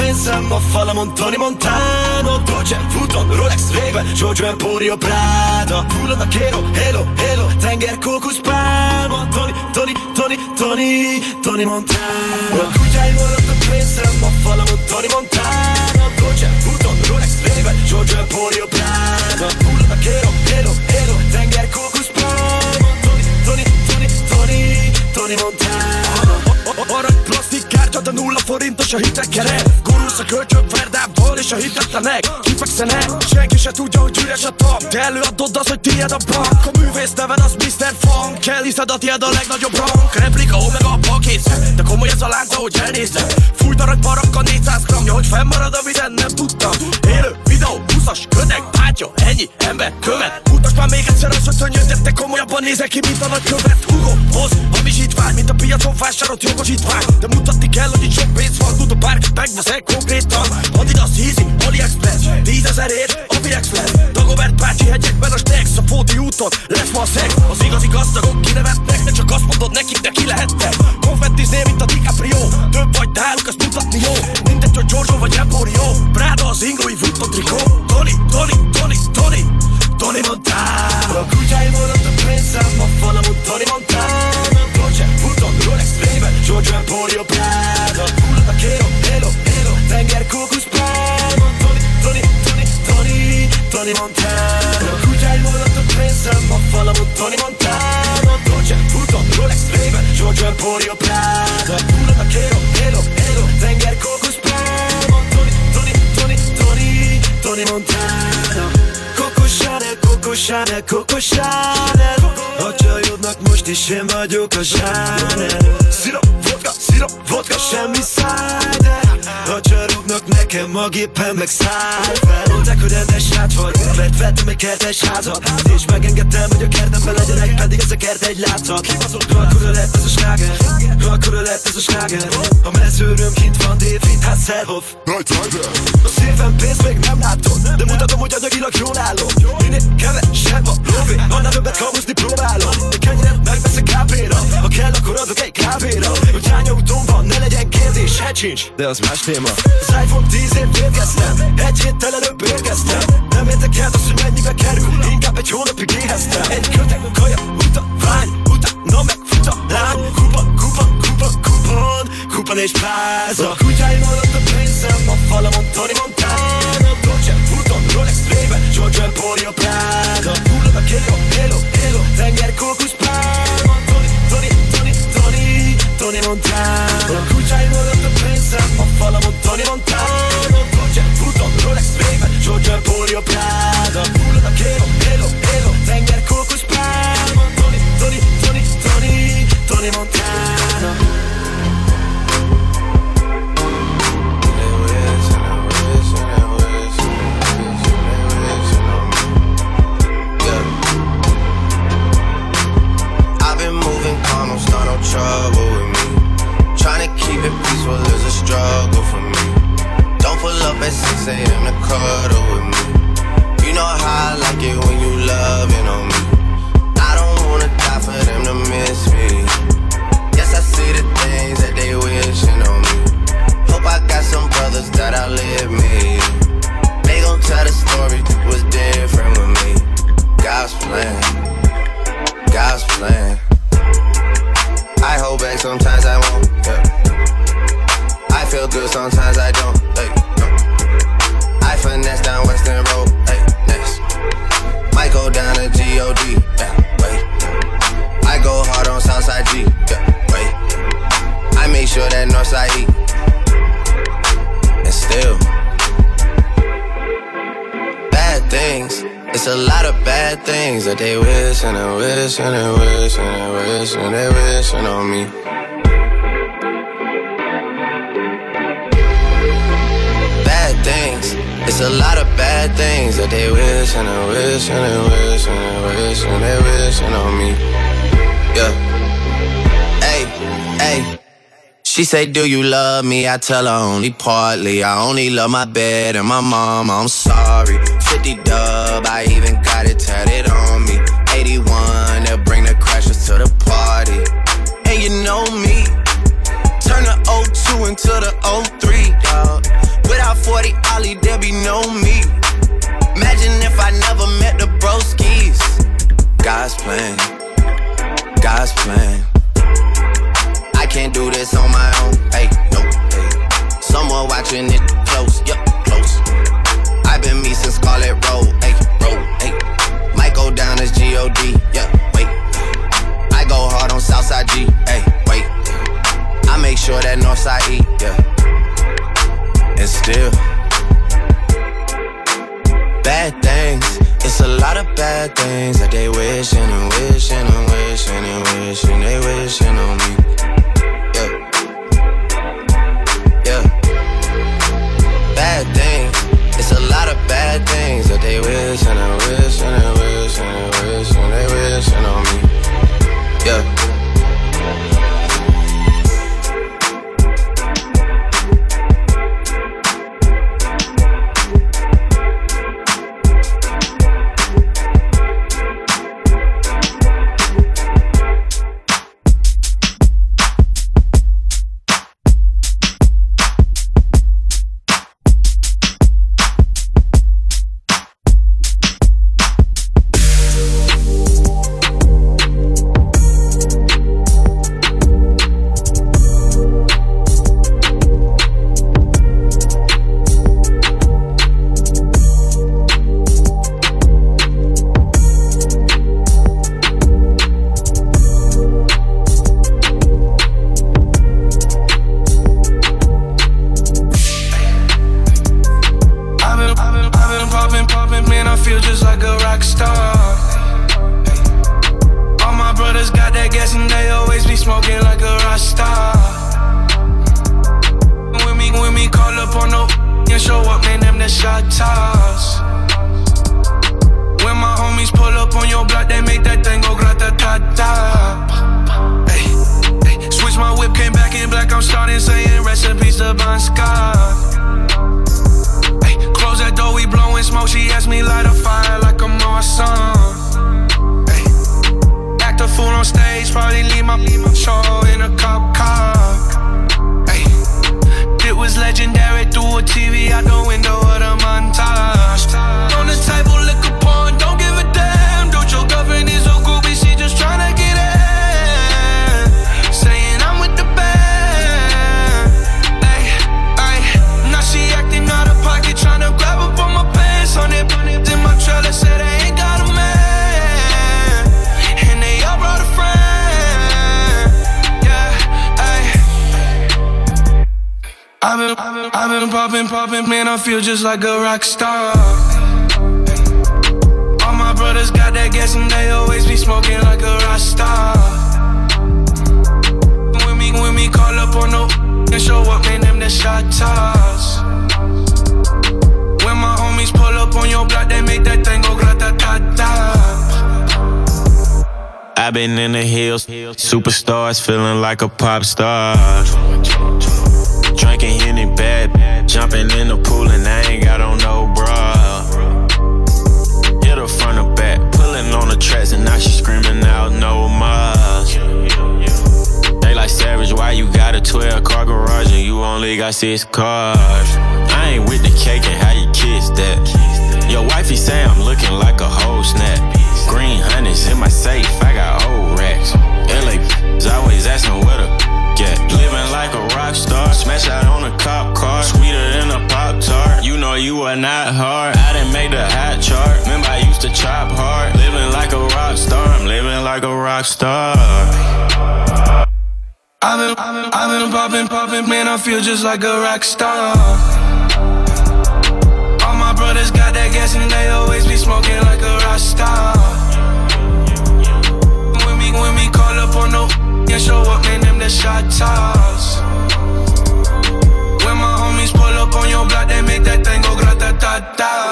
pensam a falamon Tony Montano, Dolce Vuitton, Rolex, Ray-Ban, Giorgio Emporio, Prada, Full of Vaquero, Halo, Halo, Tenger, Cocos, Palmo, Tony Montano. Kutyáim maradtak, pensam a falamon Tony Montano, Dolce Vuitton, Rolex, Ray-Ban, Giorgio Emporio, Prada, Full of Vaquero, Halo, Halo, Tenger, Cocos, Palmo, Tony Montano. Arany plastik kártya, de 0 forintos a hitekere. Gurulsz a kölcsön Verdával és a hitetlenek kifekszenek. Senki se tudja, hogy üres a tap, te előadod az, hogy tiéd a bank. A művész neved az Mr. Funk, elhiszed a tiéd a legnagyobb rank. Replika, omega, a pakétszer, de komoly ez a lánc, ahogy elnézed. Fújt arany barakkal 400 gramja, hogy fennmarad, amit nem tudtam. Élő videó, 20-as, ködeg, bátya, ennyi ember követ. Mutasd már még egyszer az, hogy szönnyöd, te komolyabban nézek ki, mint a nagykövet. Hugo, hoz, hamisítvány, mint a piacon vásárolt jogosítvány. De mutatni kell, hogy itt sok pénz van, tud a bárki megveszek konkrétan. Adidas, Easy, AliExpress, 10 000 ért, AliExpress. Dagobert bácsi hegyekben a Stex, a Fóti úton lesz ma a szex. Az igazi gazdagok kinevetnek, de csak azt mondod nekik, de ki lehettek. Konfettiznél, mint a DiCaprio, több vagy náluk, azt mutatni jó. Mindegy, hogy Giorgio vagy Emporio, Prada az ingói Vuitton trikó. Tony Montano. A kutyáim maradtak, pensam a falamon Tony Montano, Dolce Vuitton, Rolex, Ray-Ban, Giorgio Emporio, Prada, Full of Vaquero, Halo, Halo, Tenger, Cocos, Palmo, Tony Montano. A kutyáim maradtak, pensam a falamon Tony Montano, Dolce Vuitton, Rolex, Ray-Ban, Giorgio Emporio, Prada, Full of Vaquero, Halo, Halo, Tenger, Cocos, Palmo, Tony Montano. Coco Chanel. A csajodnak most is én vagyok a zsáner. Szirop, vodka, semmi cider. A csaroknak nekem a gépen meg száll fel. Mondták, hogy rendes srác vagy, mert vettem egy kertes házat, és megengedtem, hogy a kertemben legyenek, pedig ez a kert egy látszat. Akkora lett ez a sláger, a mezőröm kint van, David Hasselhoff. A szívem pénzt még nem látom, de mutatom, hogy anyagilag jól állom. Minél kevesebb a lóvé, annál többet kamuzni próbálom. De kenyeret megveszek kávéra, ha kell, akkor adok egy kávéra. Hogy hány autón van, ne legyen kérdés, hát sincs, de az más téma. Az iPhone 10 ért érkeztem, egy héttel előbb érkeztem. Nem érdekel az, hogy mennyibe kerül, inkább egy hónapig éheztem. Egy kötek, kaja, vány, utána meg fut a lány. Kupon és pláza. A kutyáim maradtak, pensam a falamon Tony Montano, Dolce Vuitton, Rolex, Ray-Ban, Giorgio Emporio, Prada, Full of Vaquero, Halo, Tenger, Cocos, Palmo, Tony Montano. A kutyáim maradtak, pensam a falamon Tony Montano, Dolce Vuitton, Rolex, Ray-Ban, Giorgio Emporio, Prada, Full of Vaquero, Halo, Tenger, Cocos, Palmo, Tony Montano. Trouble with me, trying to keep it peaceful is a struggle for me. Don't pull up at 6 a.m. to cuddle with me. You know how I like it when you loving on me. I don't wanna die for them to miss me. Yes, I see the things that they wishing on me. Hope I got some brothers that outlive me. They gon' tell the story was different with me. God's plan, God's plan. I hold back, sometimes I won't, yeah. I feel good, sometimes I don't, hey, no. I finesse down Western Road, hey, next. Might go down to G.O.D., yeah, wait. I go hard on Southside G, yeah, wait. I make sure that Northside E. And still bad things. It's a lot of bad things that they wish and they wish and they wish and they wish and they wishing on me. Bad things. It's a lot of bad things that they wish and they wish and they wish and they wish and they wishing on me. Yeah. Hey, hey. She say, do you love me? I tell her only partly. I only love my bed and my mom, I'm sorry. 50 dub, I even got it tatted on me. 81, they'll bring the crashers to the party. And you know me, turn the 02 into the 03, dawg. 40 Ollie, there be no me. Imagine if I never met the broskies. God's plan, God's plan. I can't do this on my own, hey, no, hey. Someone watching it close, yup, close. I've been me since Scarlet Road, hey, might go down as G.O.D., yeah, wait. I go hard on Southside G, hey, wait. I make sure that Northside E, yeah. And still bad things, it's a lot of bad things that they wishing and wishing and wishing and wishing they wishing on me. Yeah, yeah. Bad things, it's a lot of bad things that they wishing and wishing and wishing and wishing they wishing on me. Yeah. Man, I feel just like a rock star. All my brothers got that gas and they always be smoking like a rock star. When we call up on no and show up, man, them the shot toss. When my homies pull up on your block, they make that thing go grata-ta-ta. I've been in the hills, superstars feeling like a pop star. Drinking Henny bad, jumping in the pool and I ain't got on no bra. Hit her front or back, pulling on the tracks and now she screaming out no more. They like Savage, why you got a 12-car garage and you only got 6 cars? I ain't with the cake and how you kiss that. Your wifey say I'm looking like a whole snap. Green honey's in my safe, I got old racks. LA always asking where the get. Living like a rock star, smash out on a cop car, sweeter than a Pop-Tart. You know you are not hard, I didn't make the hot chart. Remember I used to chop hard. Living like a rock star, I'm living like a rock star. I've been poppin', man, I feel just like a rock star. All my brothers got that gas and they always be smoking like a rock star. When we call up on no and show up, man, them the shot toss. When my homies pull up on your block, they make that thing go grata-ta-ta.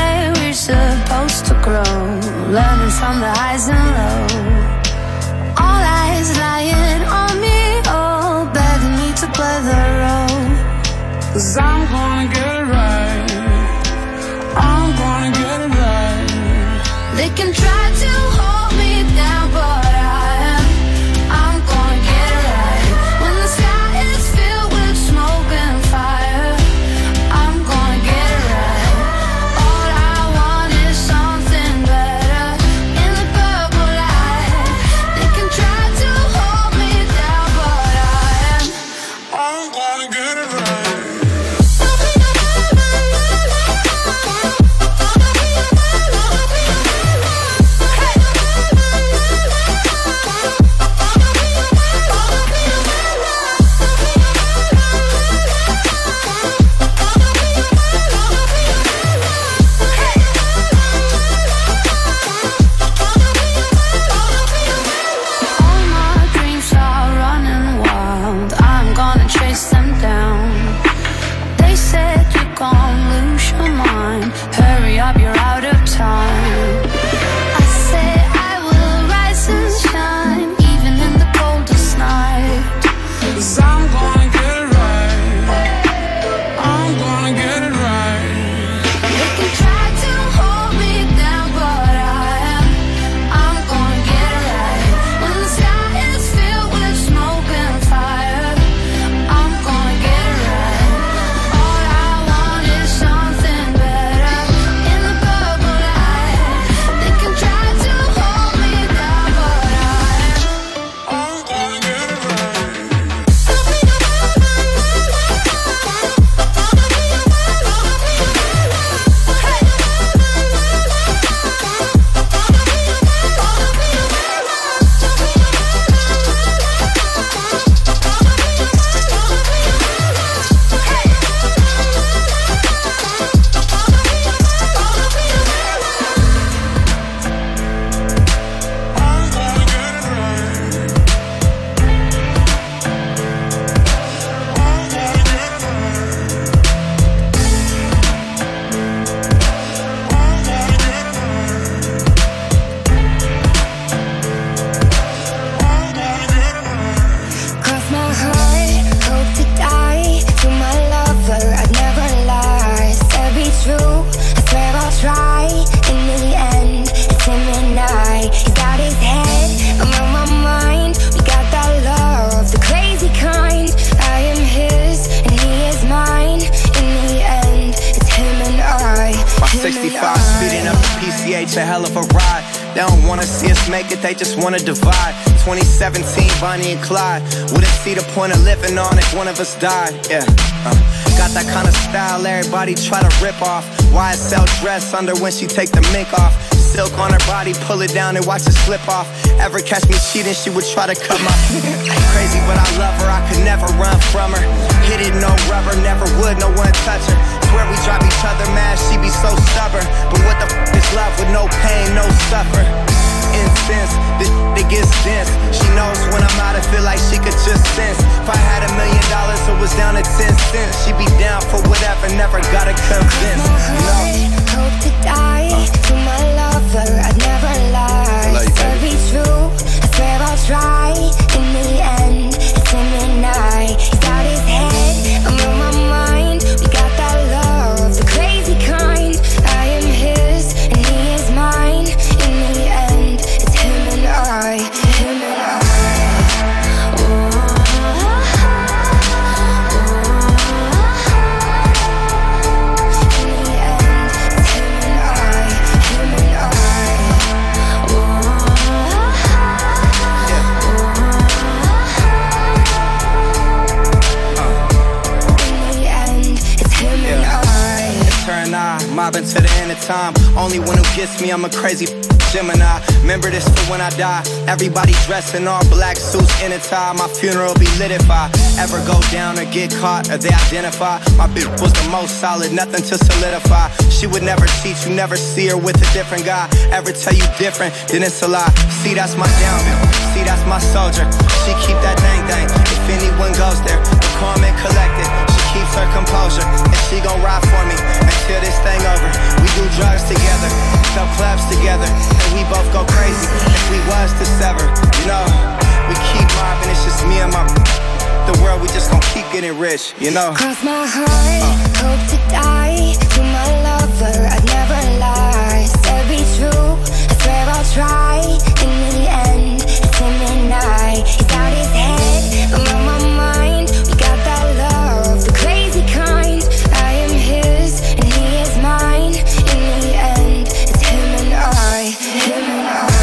way we're supposed to grow, learning from the highs and lows. All eyes lying on me, all begging me to play the role. 'Cause I'm gonna get it right, I'm gonna get it right. They can try to hold me down, but I'm gonna get it right. When the sky is filled with smoke and fire, I'm gonna get it right. All I want is something better in the purple light. They can try to hold me down, but I'm gonna get it right. They just wanna divide. 2017, Bonnie and Clyde. Wouldn't see the point of living on if one of us died. Yeah. Got that kind of style everybody try to rip off. YSL dress under when she take the mink off. Silk on her body, pull it down and watch it slip off. Ever catch me cheating, she would try to cut my crazy, but I love her, I could never run from her. Hit it, no rubber, never would, no one touch her. Swear we drive each other mad, she be so stubborn. But what the f is love with no pain, no suffer? Incense, this it gets dense. She knows when I'm out, I feel like she could just sense. If I had $1 million, it was down to 10 cents. She'd be down for whatever, never gotta convince. No. Hope to die to my lover, I'd never lie. Still be true, I swear I'll try. In the end, it's him and I. He's got his head, I'm on my mind. We got that love, the crazy kind. I am his, and he is mine. In the end, it's him and I, him and I. Mobbing to the end of time. Only one who gets me, I'm a crazy Gemini. Remember this for when I die. Everybody dressed in all black suits in a tie. My funeral will be lit if I ever go down or get caught or they identify. My bitch was the most solid, nothing to solidify. She would never cheat, you never see her with a different guy. Ever tell you different, then it's a lie. See, that's my downhill. See, that's my soldier. She keep that dang. If anyone goes there, the calm and collected. She keeps her composure, and she gon' ride for me until this thing over. We do drugs together, sell clubs together, and we both go crazy if we was to sever. You know, we keep mobbing, it's just me and my the world, we just gon' keep getting rich, you know. Cross my heart, hope to die. To my lover, I'd never lie. Said be true, I swear I'll try. In the end, it's him and I. He's out his head, I'm on my mind. We got that love, the crazy kind. I am his, and he is mine. In the end, it's him and I. Him and I.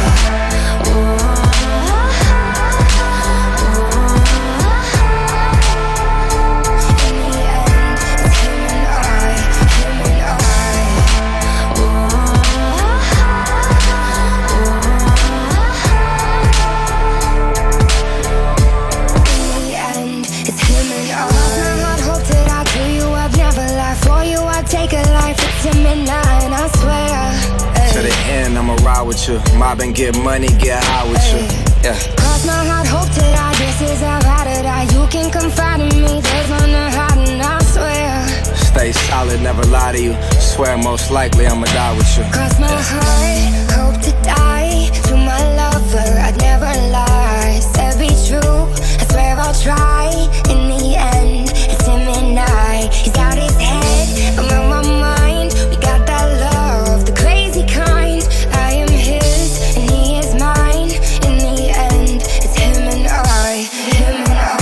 I'ma ride with you, mob and get money, get high with you. Yeah. Cross my heart, hope to die. This is how I to die. You can confide in me, there's none to hide, and I swear. Stay solid, never lie to you. Swear most likely I'ma die with you. Cross my heart, hope to die. To my lover, I'd never lie. Said be true, I swear I'll try. In the end, it's him and I. He's out his head, I'm on my mind. We got that love, the crazy kind. I am his, and he is mine. In the end, it's him and I. Him and I.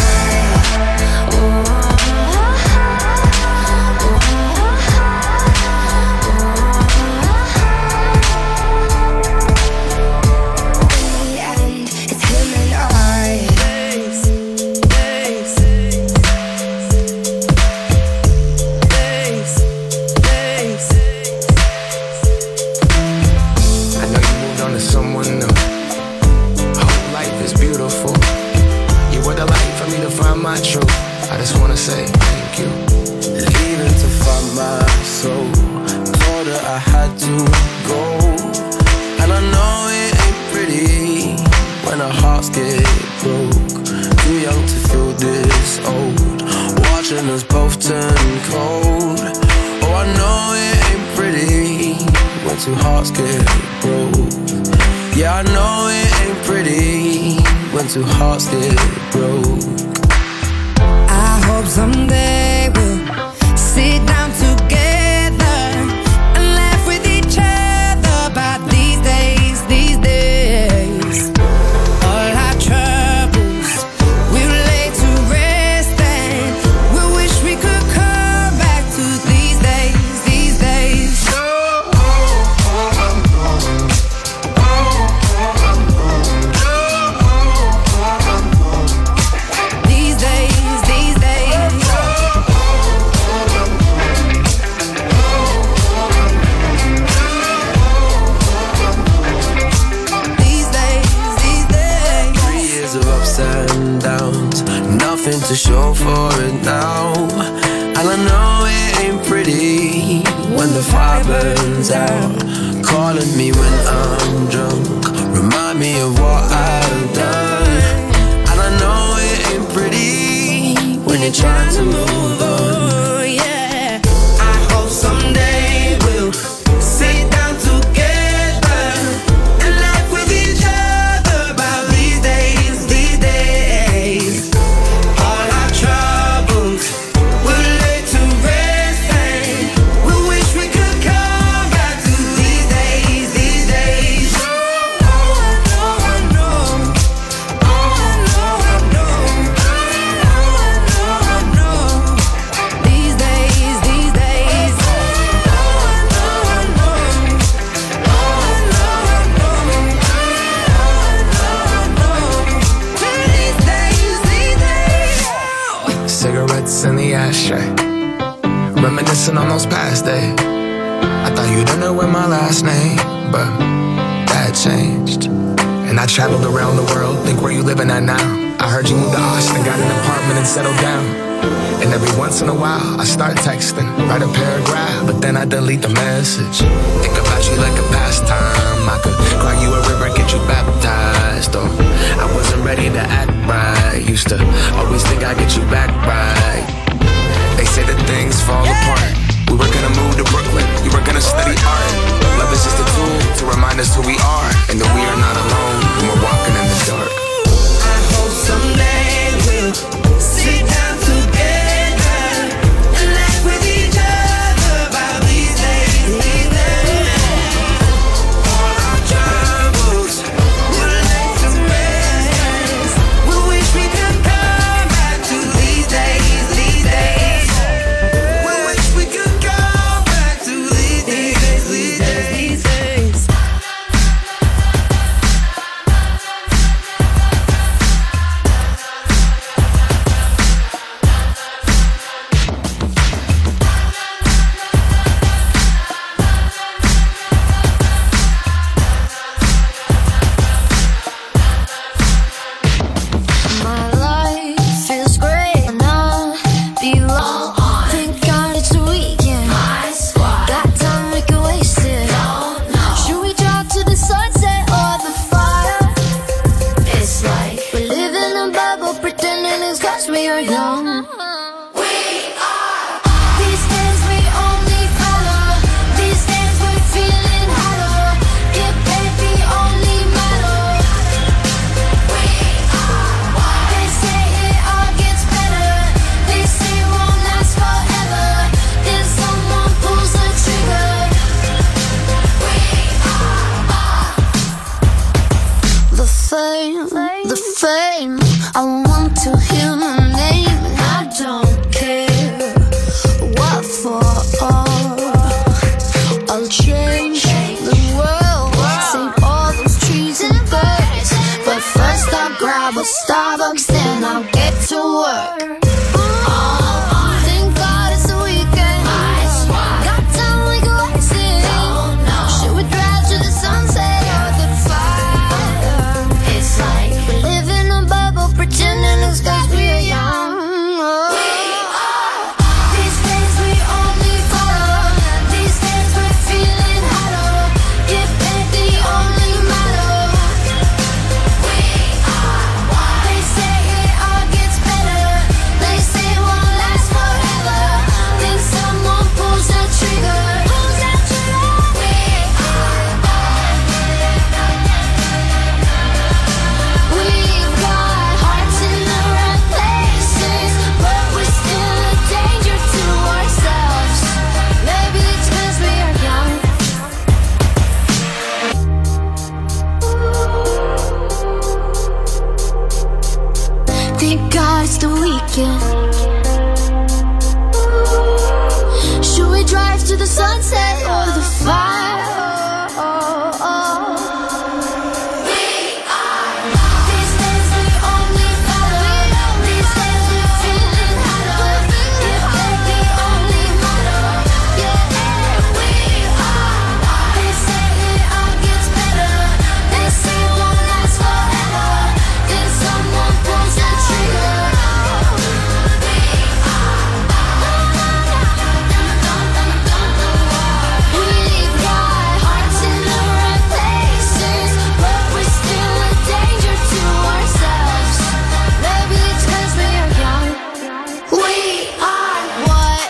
I just wanna say thank you. Leaving to find my soul. Told her I had to go. And I know it ain't pretty when our hearts get broke. Too young to feel this old. Watching us both turn cold. Oh, I know it ain't pretty when two hearts get broke. Yeah, I know it ain't pretty when two hearts get broke. I hope someday we'll sit down together and laugh with each other about these days, these days. All our troubles we'll lay to rest and we wish we could come back to these days, these days. These days, these days. These days, these days. 3 years of ups and downs, nothing to show for it now. And I know it ain't pretty when the fire burns out. Calling me when I'm drunk, remind me of what I've done. And I know it ain't pretty when you're trying to move on. Oh, yeah. I hope someday we'll sit down together and laugh with each other about these days, these days. All our troubles we'll lay to rest and we wish we could come back to these days, these days. Oh, I know, I know. Oh, I know, I know. Oh, I know, I know. These days, these days. Oh, I know, I know. Oh, I know, I know. Oh, I know, I know. These days, these days. Cigarettes in the ashtray, reminiscing on those past days. I thought you didn't know my last name, but that changed. And I traveled around the world, think where you living at now. I heard you moved to Austin, got an apartment and settled down. And every once in a while, I start texting, write a paragraph, but then I delete the message. Think about you like a pastime. I could cry you a river, get you baptized, or to act right. Used to always think I'd get you back right. They say that things fall apart. We were gonna move to Brooklyn, you were gonna study art. Love is just a tool to remind us who we are, and that we are not alone when we're walking in the dark. I hope someday we'll sit down together and laugh with each other about these days, these days. All our troubles will lay to rest. We wish we could come back to these days, these days. We wish we could come back to these days, these days, these days. My life is great and I belong. Thank God it's the weekend. Got time we can waste it. Should we drive to the sunset or the fire? It's like we live in a bubble, pretending it's 'cause we are young. These days we only follow. These days we're feeling hollow. Get paid the only matter. They say it all gets better. They say it won't last forever. Then someone pulls the trigger. The fame, I want to hear my name, and I don't care what for. I'll change the world, save all those trees and birds. But first I'll grab a Starbucks, then I'll get to work. Thank God it's the weekend. Got time we can waste it. Should we drive to the sunset or the fire? It's like we live in a bubble, pretending it's 'cause we're young. These days we only follow. These days we're feeling hollow. Get paid the only matter. They say it all gets better. They say it won't last forever. Then someone pulls the trigger. We've got hearts in the right places, but we're still a danger to ourselves. Maybe it's 'cause we are young. Thank God it's the weekend. Should we drive to the sunset or the fire? These days we only follow. These days we're feeling hollow. Get paid the only matter. They say it all gets better. They say it won't last forever. Then someone pulls the trigger. We've got hearts in the right places, but we're still a danger to ourselves. Maybe it's 'cause we are young. We are what?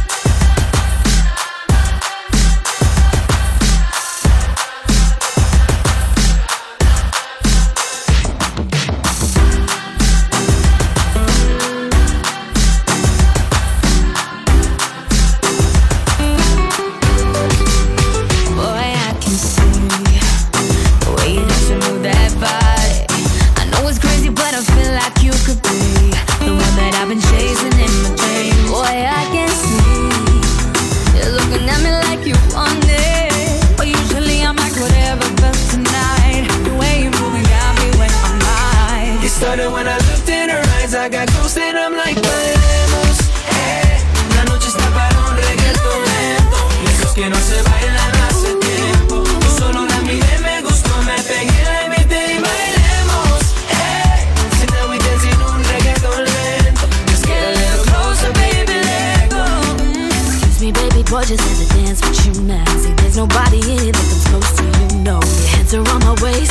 Boy, I can see the way you dance and move that body. I know it's crazy, but I feel like you could be the one that I've been chasing in my dreams. Boy, I can see you're looking at me like you want it. But usually I'm like whatever, but tonight the way you moving got me where I'm at. It started when I looked in her eyes. I got close and I'm like, bailemos. La noche está para un reggaetón lento. Y esos que no se bailan hace tiempo. Tú solo la miré, me gustó, me pegué, la invité y bailemos. So now we dancing un reggaetón lento. Let's get a little closer, baby, let go. Excuse me, baby, boy, just let me dance with you now. See, there's nobody here that comes close to you, no. Your hands are on my waist, my lips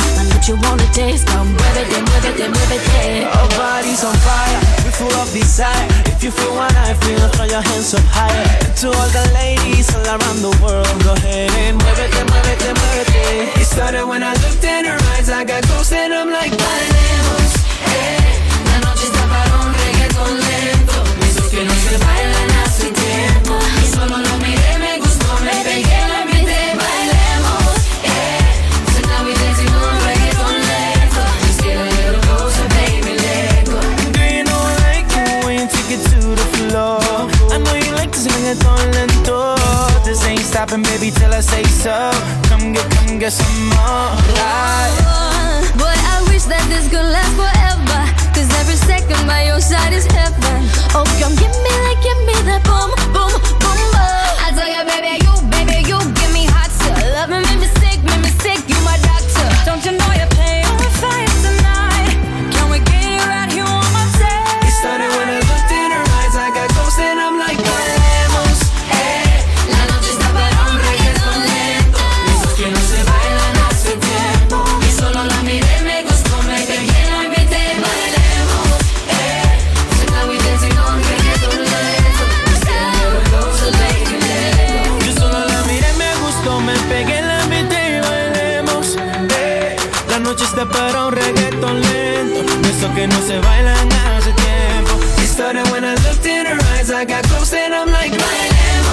you wanna taste. Come muévete, muévete, muévete. Our bodies on fire, we full of desire. If you feel what I feel, throw your hands up higher. And to all the ladies all around the world, go ahead and muévete, muévete, muévete. It started when I looked in her eyes, I got close and I'm like, bailemos, la noche está para un reggaeton lento. Esos que no se bailan hace tiempo. Y solo lo miré, me gustó, me pegué, la invité. Bailemos, so now we dancing on reggaeton lento. Just get a little closer, baby, let go. do you know I like it when you take it to the floor? I know you like this reggaeton lento. This ain't stopping, baby, till I say so. Come get some more. Boy, I wish that this could last forever. Cause every second by your side is heaven. Oh, come give me that boom, boom, boom, boom. I tell ya, baby, you give me hot stuff. Love me, make me sick, you my doctor. Don't you know you're playing with fire tonight? Can we get you right here on my side? It started when I looked in her eyes, I got close and I'm like, bailemos, la noche está para un reggaeton lento. Esos que no se bailan hace tiempo. Y solo la miré, me gustó, me pegué, la invité. Bailemos, so now we dancing on reggaeton lento. Just get a little closer, baby, let go. yo solo la miré, me gustó, me pegué, la invité y bailemos. La noche está para un reggaeton lento, eso que no se bailan hace tiempo. It started when I looked in her eyes, I got close and I'm like, bailemos.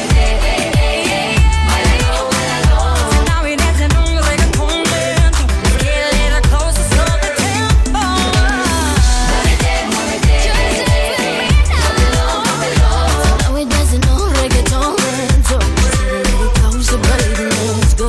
So now we dancing on reggaeton lento. Get a little closer, slow the tempo. Now we dancing on reggaeton lento. Get a little closer, baby, let's go.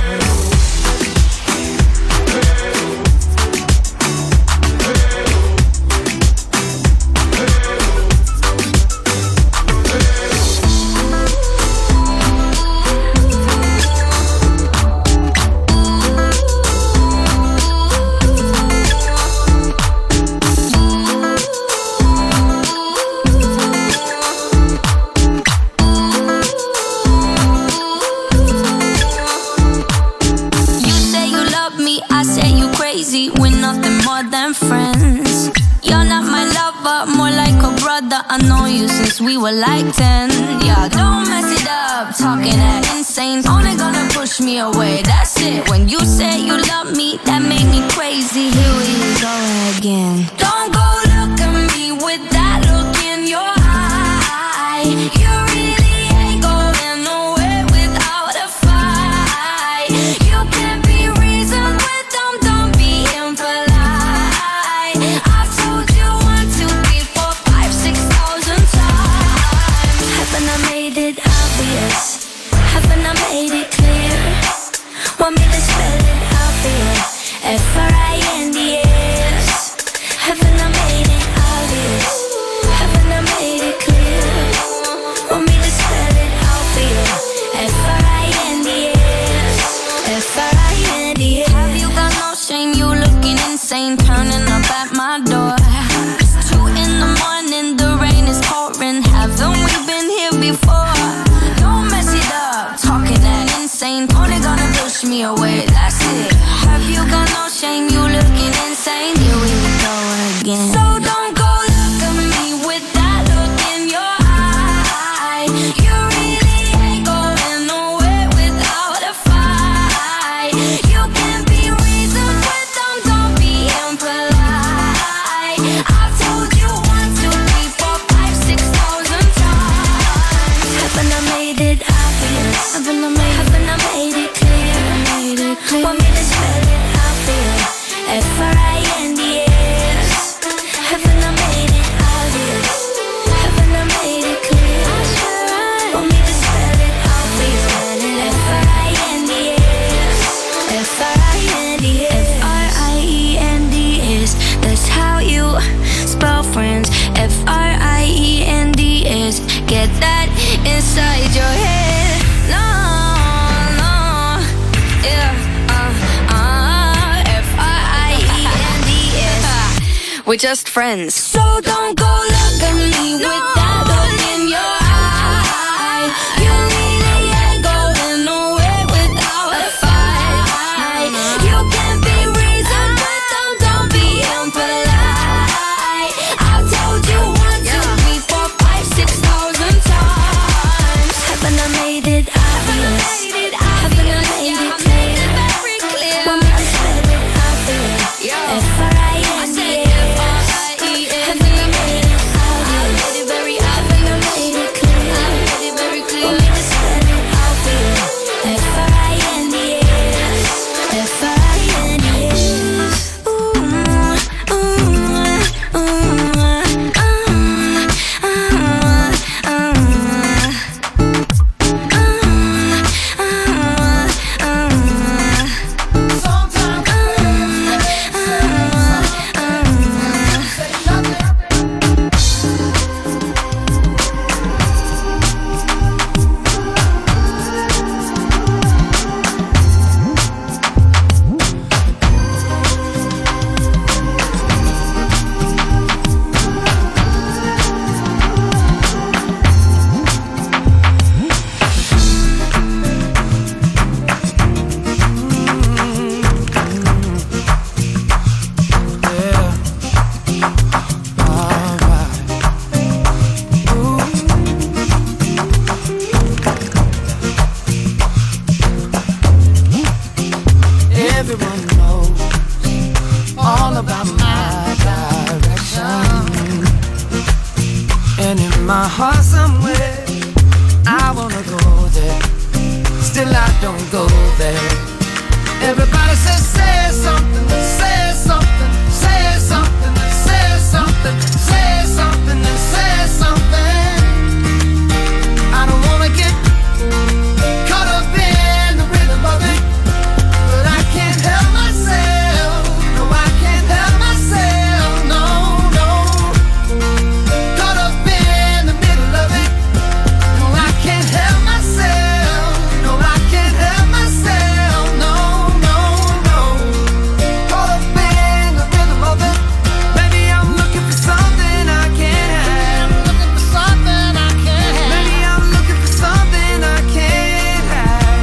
You say you love me, I say you crazy. We're nothing more than friends. You're not my lover, more like a brother. I know you since we were like 10. Yeah, don't mess it up, talking that insane. Only gonna push me away, that's it. When you say you love me, that made me crazy. Here we go again. Don't go look at me with that look in your eye. You really ain't going nowhere without a fight. You can't be reasoned with them, don't be impolite. I've told you 1, 2, 3, 4, 5, 6,000 times. Haven't I made it obvious? Haven't I made it clear? Want me to spell it out for you? F-R-I-N-D-S. Haven't I made it obvious? Haven't I made it clear? Want me to spell it out for you? F-R-I-N-D-S. F-R-I-N-D-S. Have you got no shame? You looking insane, turning up at my door. It's 2 in the morning, the rain is pouring. Haven't we been here before? Don't mess it up, talking that insane. Only gonna push me away, that's it. Have you got no shame? You looking insane. Here we go again. So don't go look at me with that look in your eye. You really ain't going nowhere without a fight. You can't be reasoned with them, don't be impolite. I've told you 1, 2, 3, 4, 5, 6,000 times. Haven't I made it obvious? Haven't I made it clear? Want me to spell it out for you? F-R-I-N-D-S. Haven't I made it obvious? Haven't I made it clear? Want me to spell it out for you? F-R-I-N-D-S. F-R-I-N-D-S. F-R-I-E-N-D-S. That's how you spell friends. F-R-I-E-N-D-S. Get that inside your head. No, no, yeah, F-R-I-E-N-D-S. We're just friends. So don't go look at me with that look in your eye. You really ain't going nowhere without a fight. You can't be reasoned everyone knows all about my direction. And in my heart somewhere, I wanna go there. Still I don't go there. Everybody says, say something, say something, say something, say something, say something, say something. I don't wanna get caught up in the rhythm of it, but I can't help myself. No, I can't help myself. No, no. Caught up in the middle of it. No, I can't help myself. No, I can't help myself. No, no, no. Caught up in the rhythm of it. Maybe I'm looking for something I can't have. Looking for something I can't have. Maybe I'm looking for something I can't have.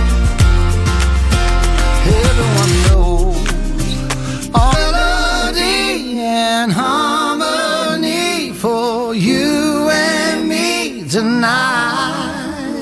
Everyone knows all melody and harmony for you and me tonight.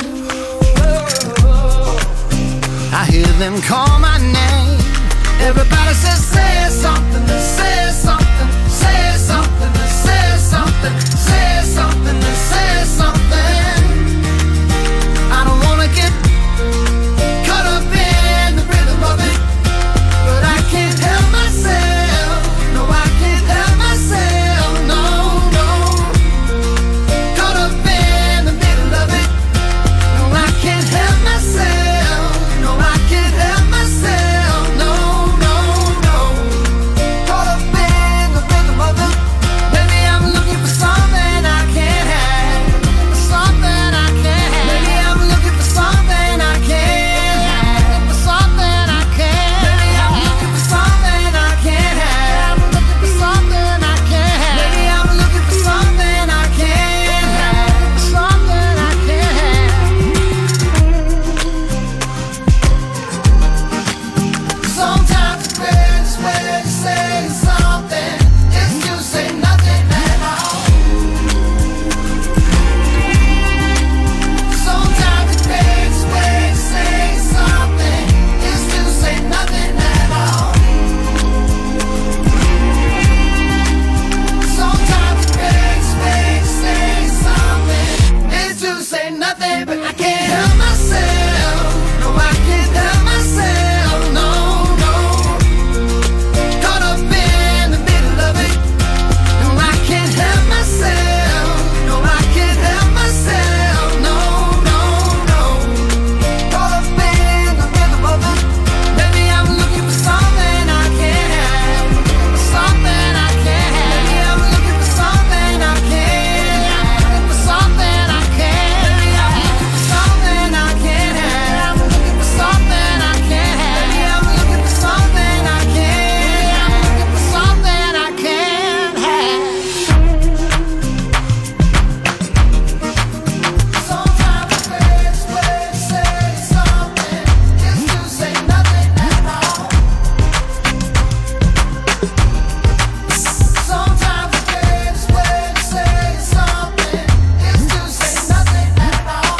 I hear them call my name. Everybody says, say something, say something, say something, say something, say something, say something. I don't wanna get caught up in the rhythm of it, but I can't help myself. No, I can't help myself. No, no. Caught up in the middle of it. No, I can't help myself. No, I can't help myself. No, no, no. Caught up in the rhythm of it. Maybe I'm looking for something I can't have. Looking for something I can't have. Maybe I'm looking for something I can't have. Looking for something I can't. Maybe I'm looking for something I can't have. Looking for something I can't have. Maybe I'm looking for something I can't have. Something I can't have. Sometimes the greatest way to say something is to say nothing at all. Sometimes the greatest way to say something is to say nothing at all. Sometimes the greatest way to say something is to say nothing, but I can't help myself. No, I can't help myself. No, no. Caught up in the middle of it. No, I can't help myself. No, I can't help myself. No, no, no. Caught up in the rhythm of it. Maybe I'm looking for something I can't have. Something I can't have. Maybe I'm looking for something I can't have. Looking for something I can't. Maybe I'm looking for something I can't have. Looking for something I can't have. Maybe I'm looking for something I can't have. Looking for something I can't have. Sometimes the greatest way to say something is to say nothing at all. Sometimes the greatest way to say something is to say nothing at all.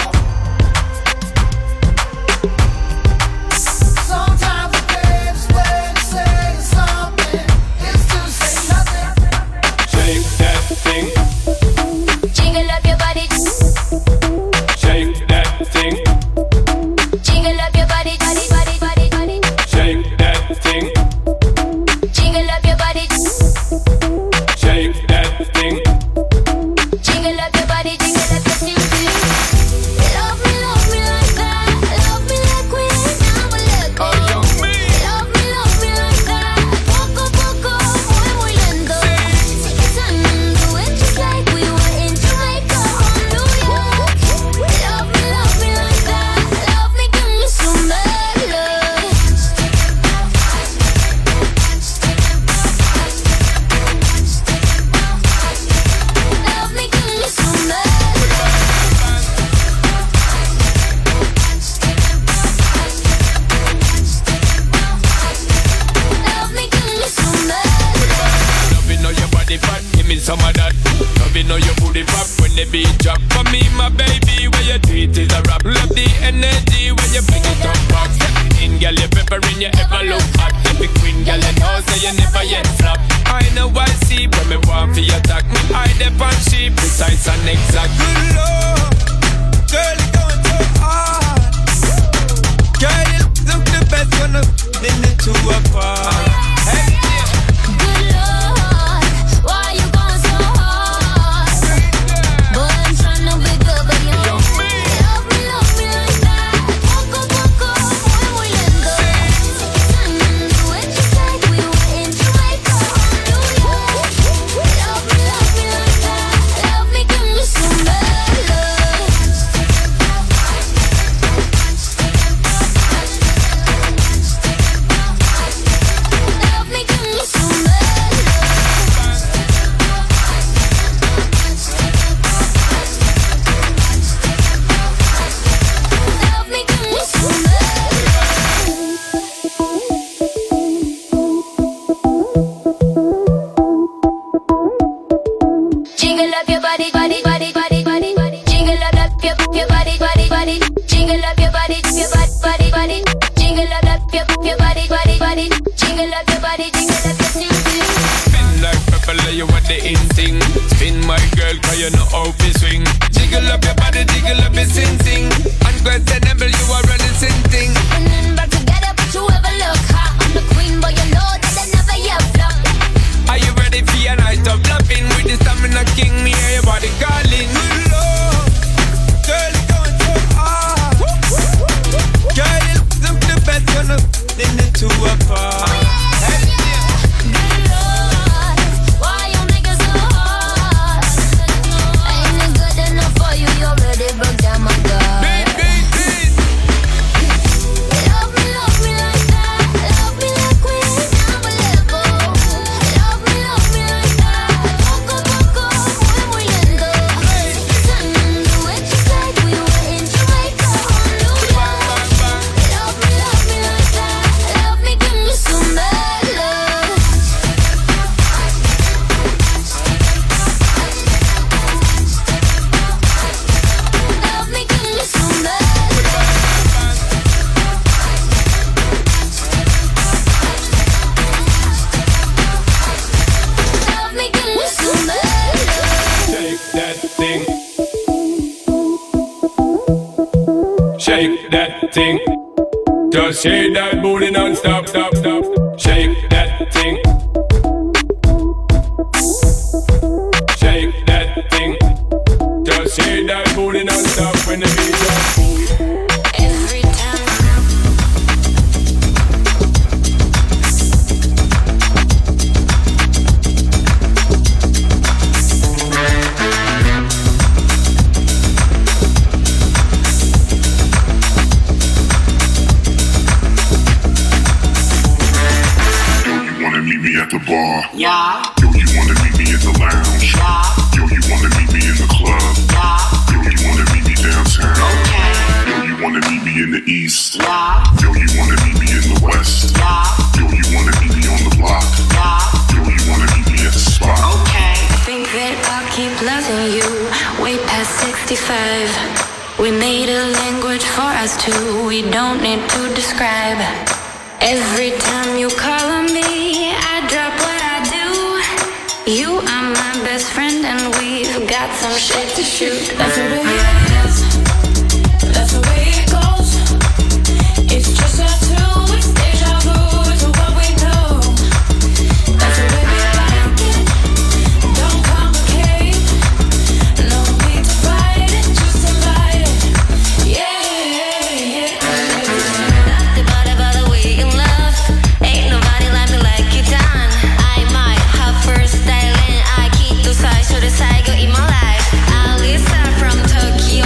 Sometimes the greatest way to say something is to say nothing. Shake that thing, Jiggle up your body, shake that thing, jiggle up your body, body, body, body, body. shake that thing, Jiggle up your body, shake that thing. jiggle up your body, jiggle up your body. Love me like that. Love me like we ain't never let go. Love me like that. Poco a poco, muy muy lento. Take your time and do it just like we were in Jamaica or New York. Love me like that. Love me, give me some bad love. Love me, give me some bad love. Me, give me some bad Loving how your body fat, give me some of that. Loving how your booty pop when the beat drop. For me, my baby, where your tweet is a rap. Love the energy when you bring it up back. Step in, girl, you pepper in, you ever look hot. say you never yet flop. I know I see when me want for you attack me. I dep on sheep, precise and exact. Good Lord, girl, you going so hard. Girl, you look the best when I'm in the two apart. Hey, yeah. Good Lord, why you going so hard? Boy, I'm trying to be good, but you love me like that. Poco, muy lento. Do what you said, we were in Jamaica, Honduras. Love me like that. Love me, give me some bad love. Love me, give me some bad love. Love me, give me some bad Jiggle up your body, body, body, body, body, body. Jiggle up your body, body, body. Jiggle up your body, body, body. Jiggle up your body, body, body. Jiggle up your body, jiggle up your sing. Spin like pepper, you want the instinct. Spin my girl, cause you know how to swing. Jiggle up your body, jiggle up your sing. Unquestionable, you are running sing thing. And then back together, but you ever look hot. I'm the queen, but you know that I never yet flop. Are you ready for your night of loving? With the stamina king, me hear your body calling. Good Lord, girl, you going so hard. Girl, you look the best when I'm in the two apart. Hey, yeah. Good Lord, why you niggas so hard? Ain't it good enough for you? You already broke down my guard. Beat, beat, beat. Love me like that. Love me like we ain't never let go. Love me like that. Poco, muy lento. Do what you said, we were in Jamaica, Honduras. Love me like that. Love me, give me some bad love. Love me, give me some bad Love me, give me some bad Shake that thing. Shake that thing. Just shake that booty non-stop, stop, stop. Shake that thing. Shake that thing. Just shake that booty non-stop when the beat drops. Every time. You wanna meet me at the bar? Yeah, Yo, you wanna meet me at the lounge? yeah, Yo, you wanna meet me in the club? yeah, Yo, you wanna meet me downtown? okay, Yo, you wanna meet me in the east? yeah, Yo, you wanna meet me in the west? yeah, Yo, you wanna meet me on the block? yeah, Yo, you wanna meet me at the spot? okay. Think that I'll keep loving you way past 65. We made a language for us two, we don't need to describe. Every time you call on me, I drop what I do. You are my best friend and we've got some shit to shoot. That's the way it is, that's the way it goes. It's just us two, it's deja vu to what we know. That's the way we like it, don't complicate. No need to fight it, just invite it. Yeah. Nothing but the way you love. Ain't nobody like me like you done. I might have first style and I keep to side, so the side go in my life. Alisa from Tokyo.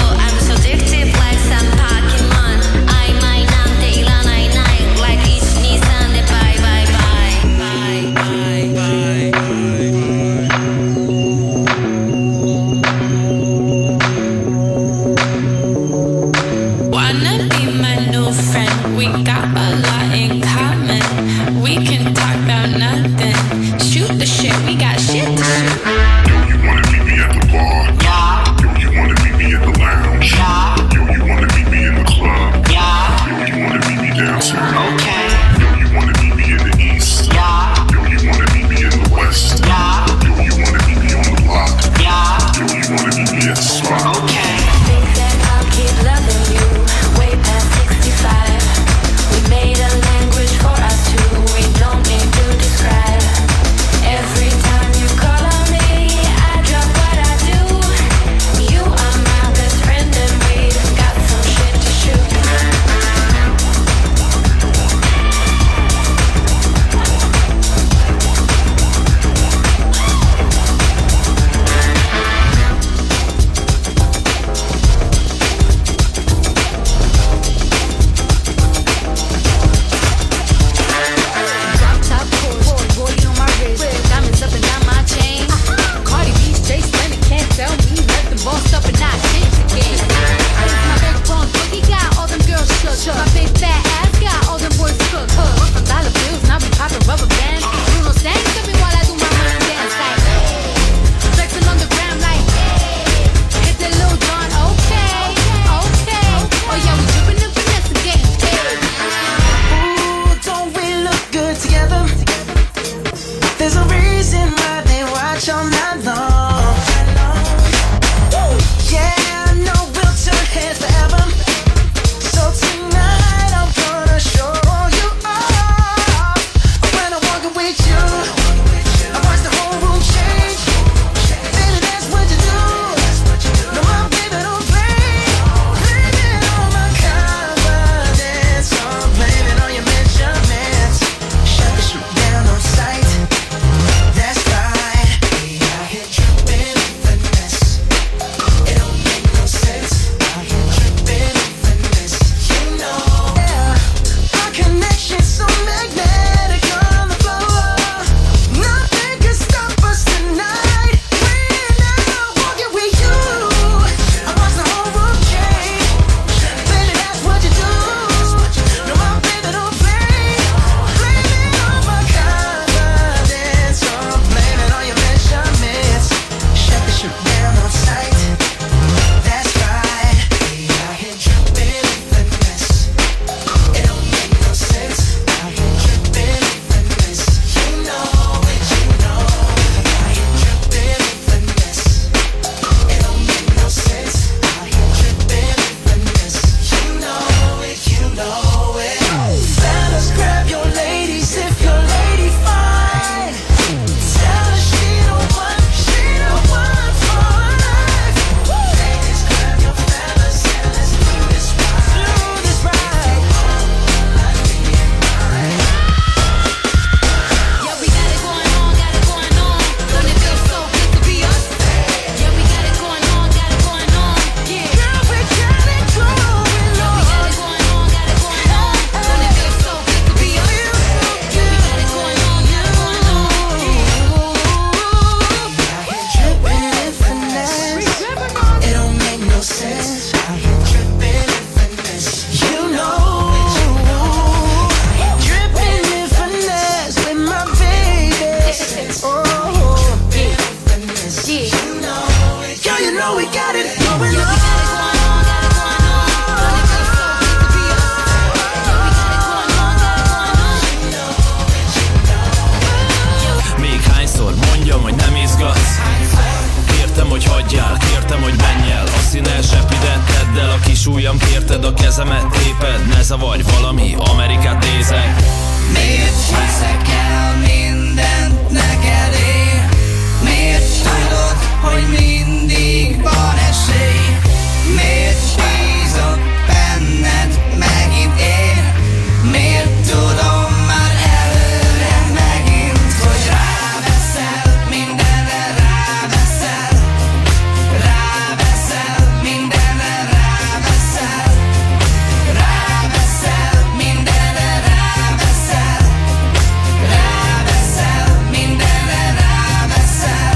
el a kis ujjam, kérted a kezemet, téped, ne zavarj, valami Amerikát nézek. Miért hiszek el mindent neked én? Miért tudod, hogy mindig van esély? Miért bízok benned megint én? Miért tudom már előre megint, hogy ráveszel, mindenre ráveszel? Ráveszel, mindenre ráveszel? Ráveszel, mindenre ráveszel? Ráveszel, mindenre ráveszel?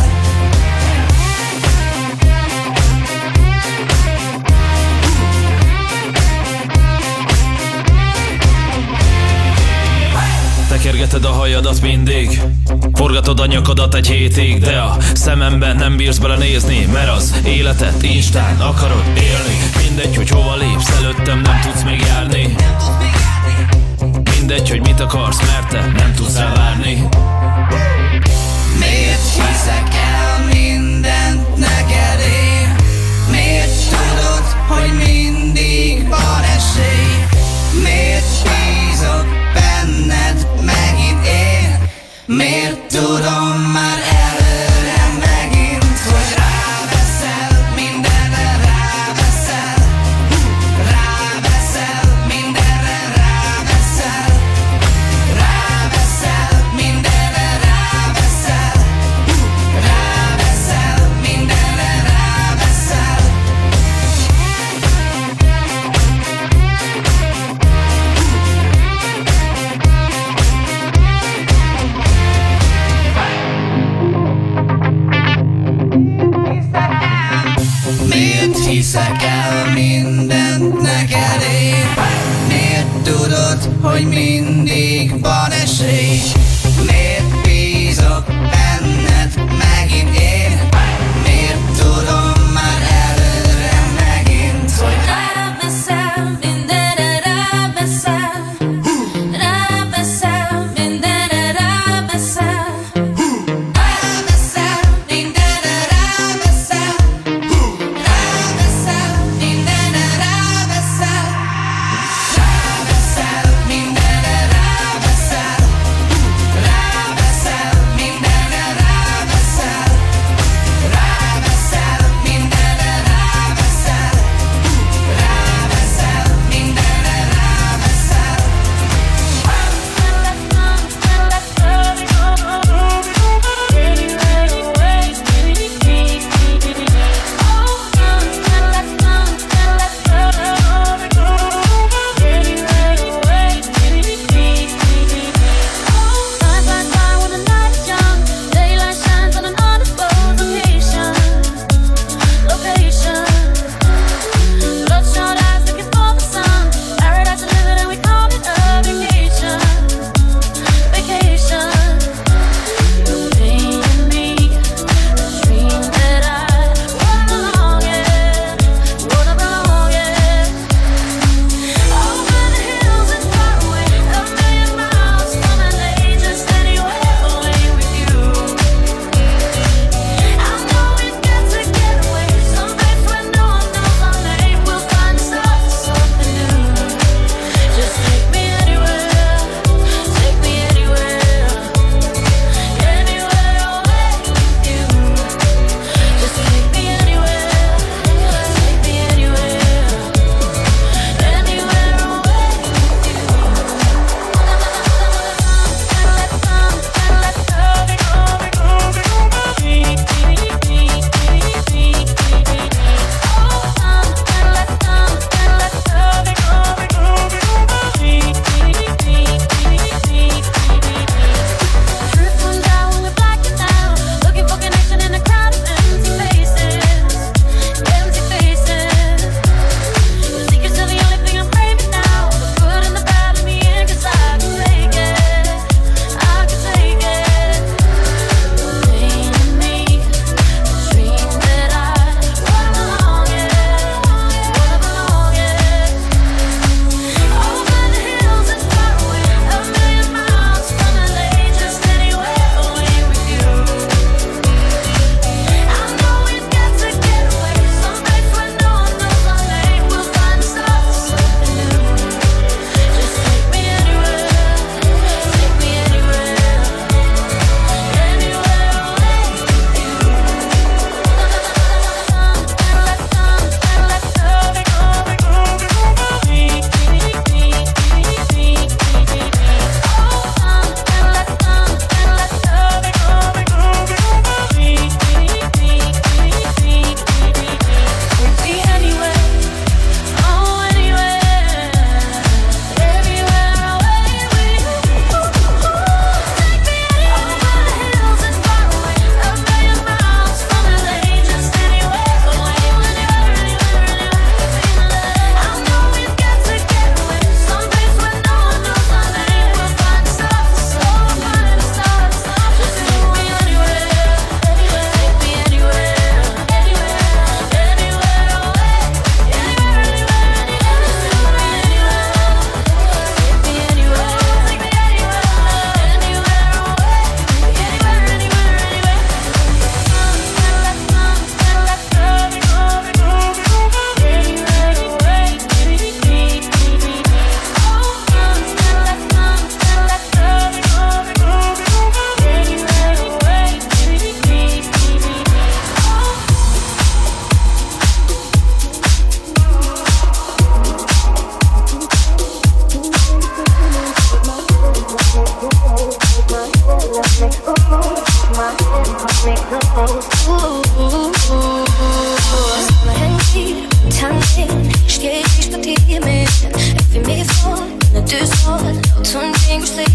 Tekergeted a hajadat mindig, forgatod a nyakadat egy hétig, de a szememben nem bírsz belenézni, mert az életet Instán akarod élni. Mindegy, hogy hova lépsz, előttem nem tudsz még járni. Mindegy, hogy mit akarsz, mert te nem tudsz elvárni. Miért hiszek el mindent neked én? Miért tudod, hogy mindig van esély? Miért bízok benned megint én? Miért tudom már előre megint, hogy ráveszel, mindenre ráveszel? Ráveszel, mindenre ráveszel? Ráveszel, mindenre ráveszel? Ráveszel, mindenre ráveszel?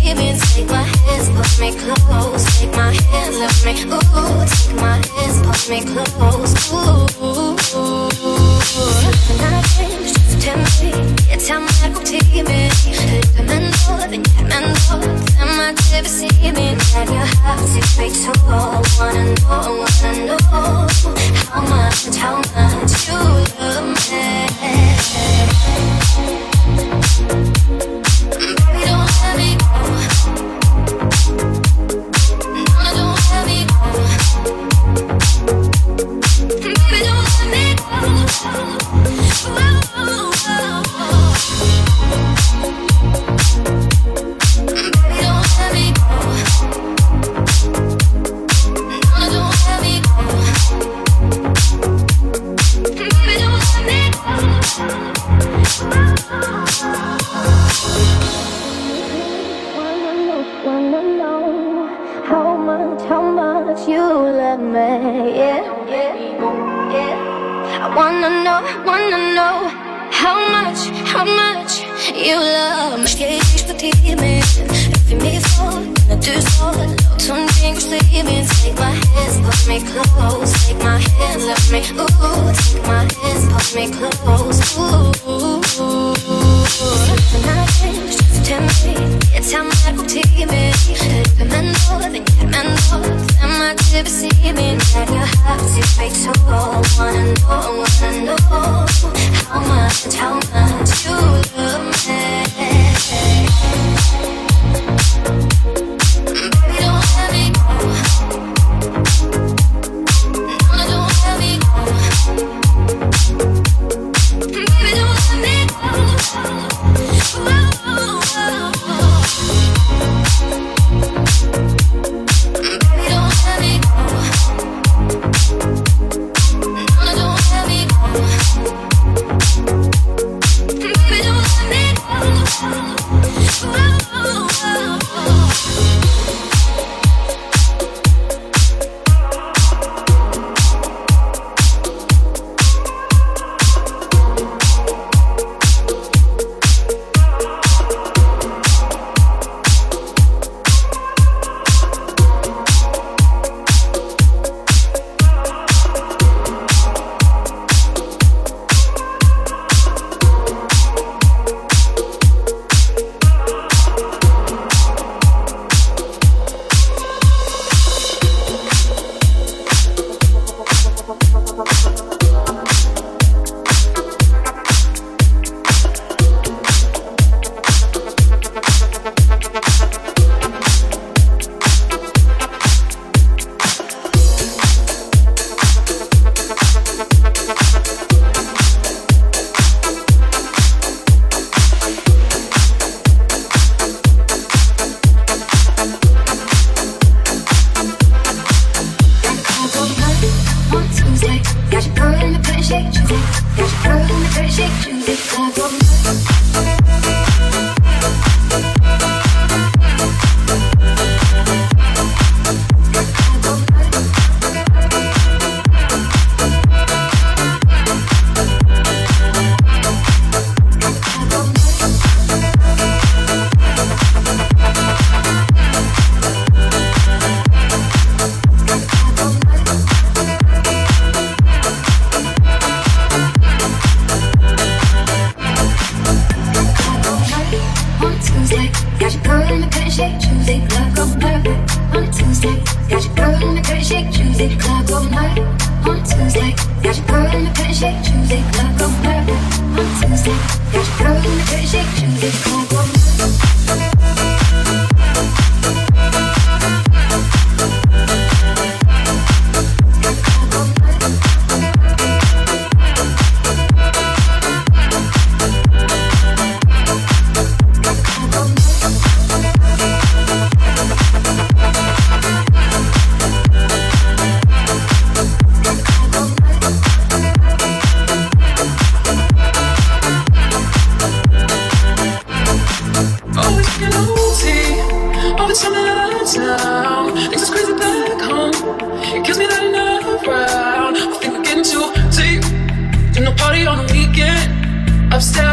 see me. Take my hands, pull me close. Take my hands, lift me. Ooh, take my hands, pull me close. Ooh, 나 just tell me. It's how my routine is. I'ma never see me. Now you have to be told. I wanna know how much you love me. Baby, don't let me go. No, don't let me go. Baby, don't let me go. You love me, yeah. I wanna know how much you love me. Скажешь, что ты мне, if me fall, на du så, låt som ting sleep me. Take my hands, pull me close. Take my hands, love me, ooh. Take my hands, pull me close, ooh. Just tell me, it's how my routine is. I'ma never see me. Now you have to be told. I wanna know how much you love me. Baby, don't let me go. No, don't let me go. Baby, don't let me go.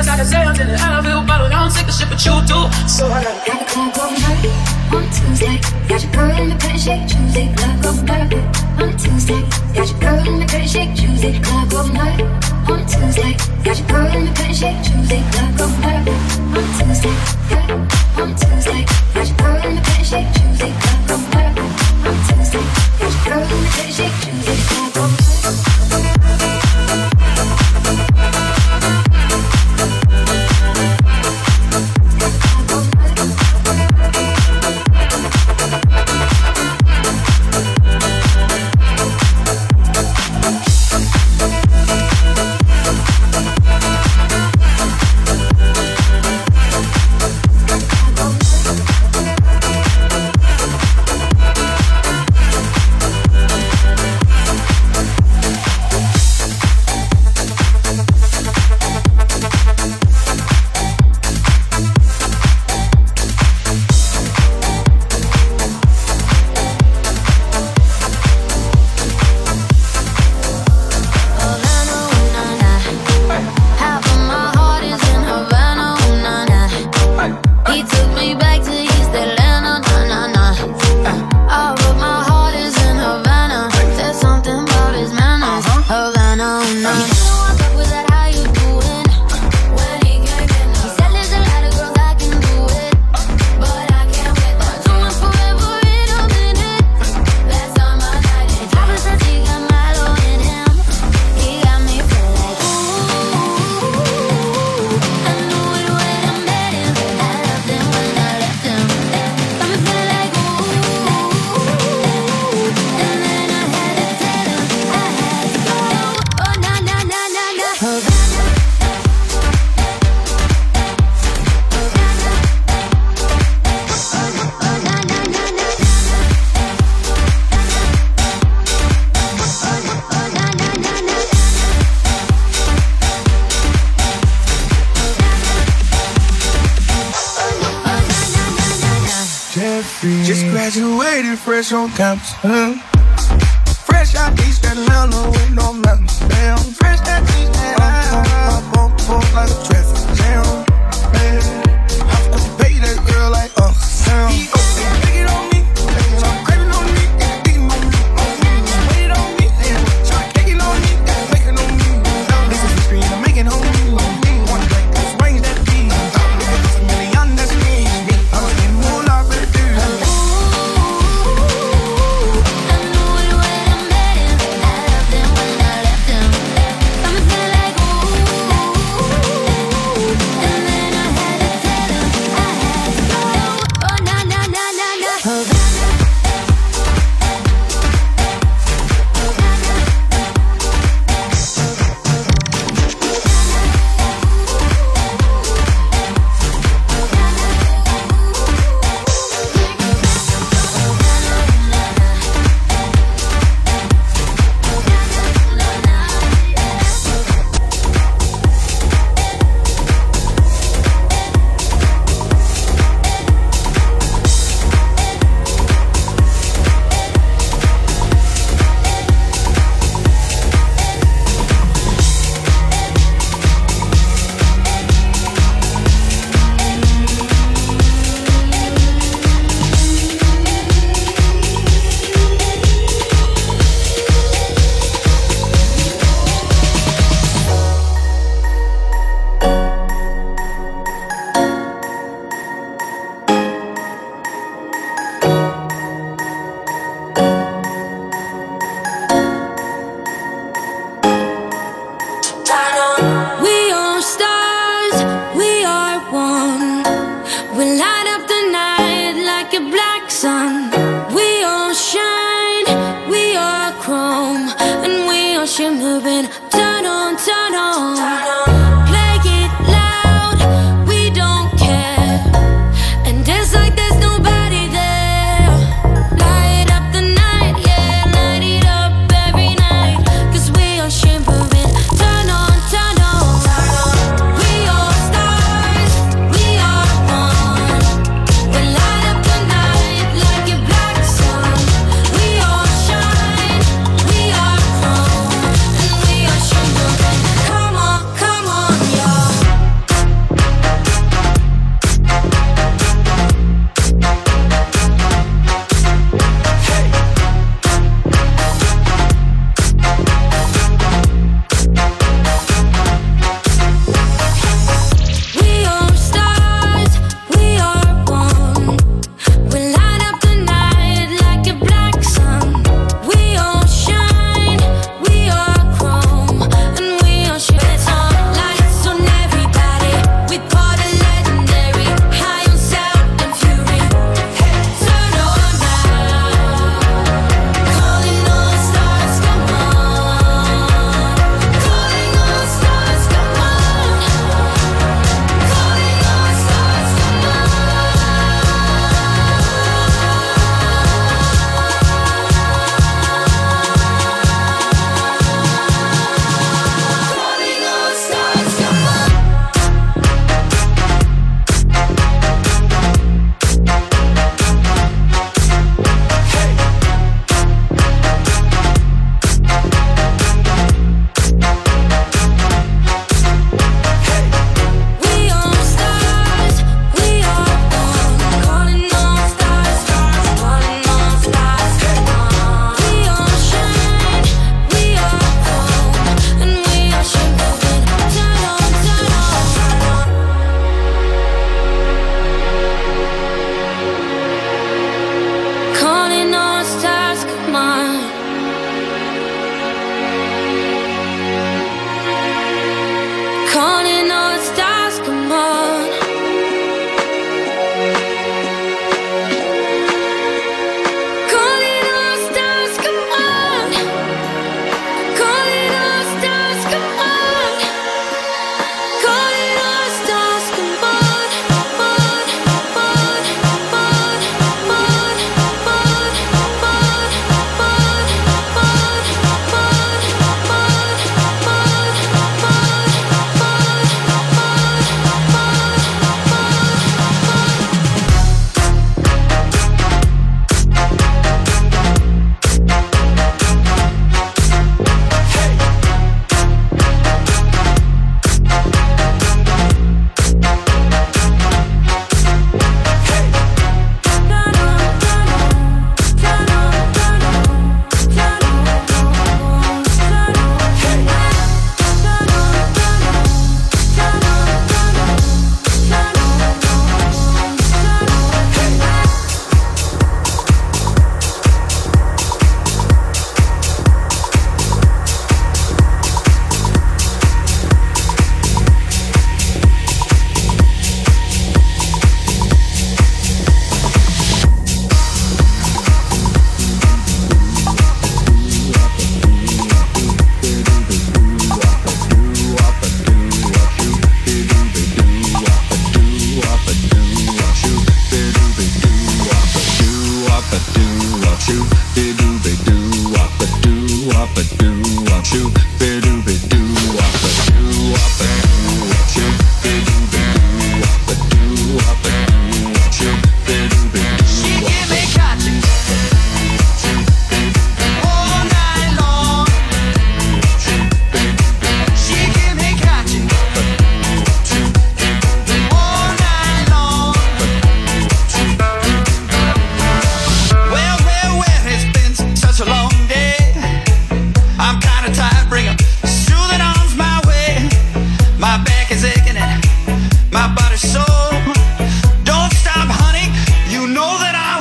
else I can say until the I feel bottled. I don't take the shit, but you do. So I gotta got the club going hurt on Tuesday. Got your girl in the pretty shake Tuesday. Club going hurt on Tuesday. Got your girl in the pretty shake Tuesday. Club going hurt on Tuesday. Got your girl in the pretty shake Tuesday. Club going hurt on Tuesday. On Tuesday. Got your girl in the pretty shake Tuesday. Club going hurt on Tuesday. Got your girl in the pretty shake Tuesday. Club going hurt. Just graduated fresh on campus. Fresh out East Atlanta with no mountains. Damn, fresh out East Atlanta. Bump like a traffic jam. I pay that girl like Sam. He take it on me. Try craving on me. Digging on me. Wait it on me. Try taking on me. Making on me. This is the screen I'm making on me. One drink, just range that beat. It's a million, that's me. I'm getting more life for the dude. We are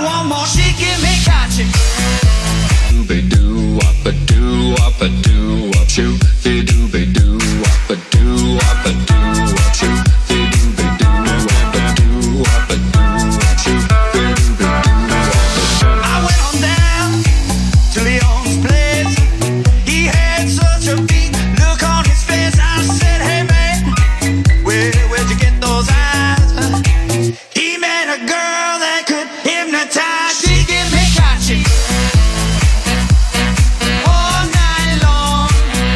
want more. She give me kachi. Doo-be-doo, wop-a-doo, wop-a-doo, wop-shoo. Doo-be-doo, wop-a-doo, wop-a-doo, wop-shoo. Doo-be-doo, wop-a-doo, wop-a-doo, wop-shoo. Doo-be-doo, wop-a-doo. I went on down to Leon's place. He had such a big look on his face. I said, hey man, where'd you get those eyes? He met a girl that could hypnotize. She give me kachi all night long.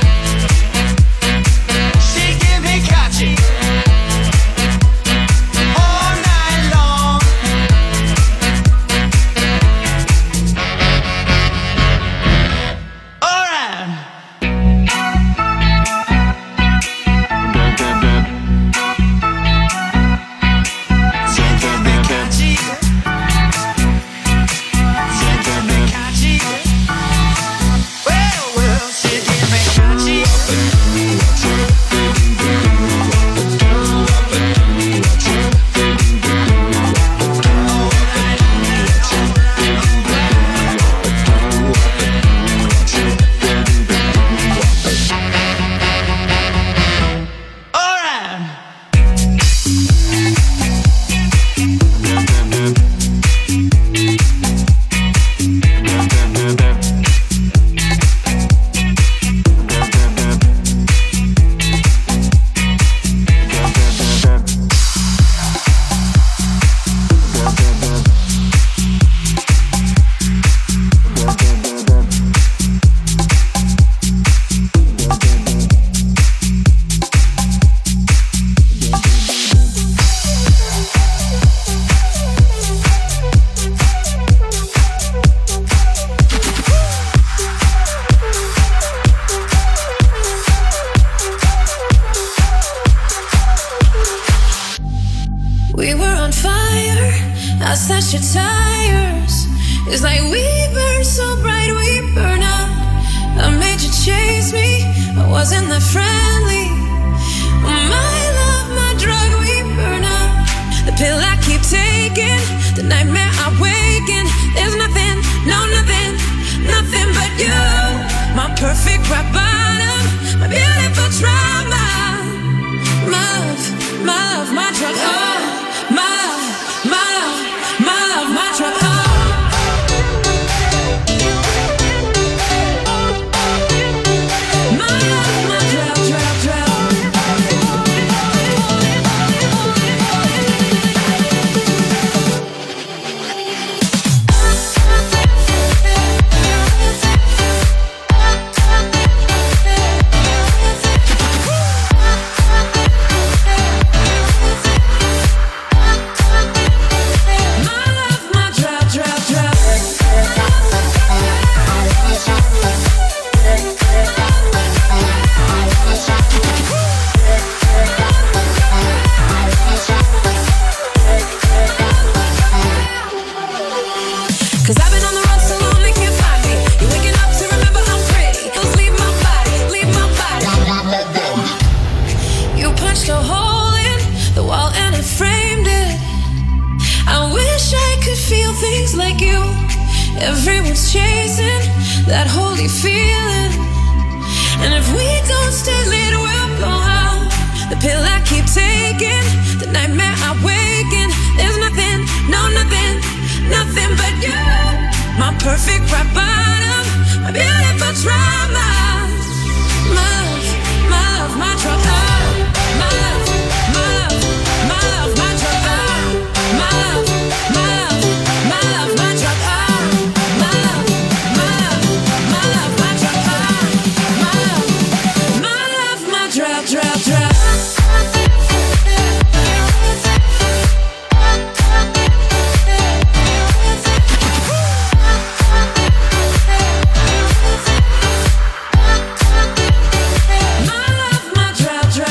She give me kachi all night long. All right. She give me kachi. She give me kachi. Well, she give me kachi. All right. We were on fire, I slashed your tires. It's like we burn so bright, we burn out. I made you chase me, I wasn't that friendly. My love, my drug, we burn out. The pill I keep taking, the nightmare I waken. There's nothing, no nothing, nothing but you. My perfect rock bottom, my beautiful trauma. My love, my love, my drug, oh. My love, my love, my love, my drug, oh. My love, my drug, drug, drug. Cause I've been on the road so long they can't find me. You're waking up to remember I'm pretty. Just leave my body, leave my body. You punched a hole in the wall and it framed it. I wish I could feel things like you. Everyone's chasing that holy feeling. And if we don't stay lit, we'll blow out. The pill I keep taking, the nightmare I waken. There's nothing, no nothing, nothing but you. My perfect rock bottom, my beautiful trauma. My love, my love, my drug, oh. My love, my love, my love, my drug, oh. My love, my love, my love, my drug, oh. My love, my love, my love, my drug, oh. My love, my drug, drug, drug. My love, my drug, drug.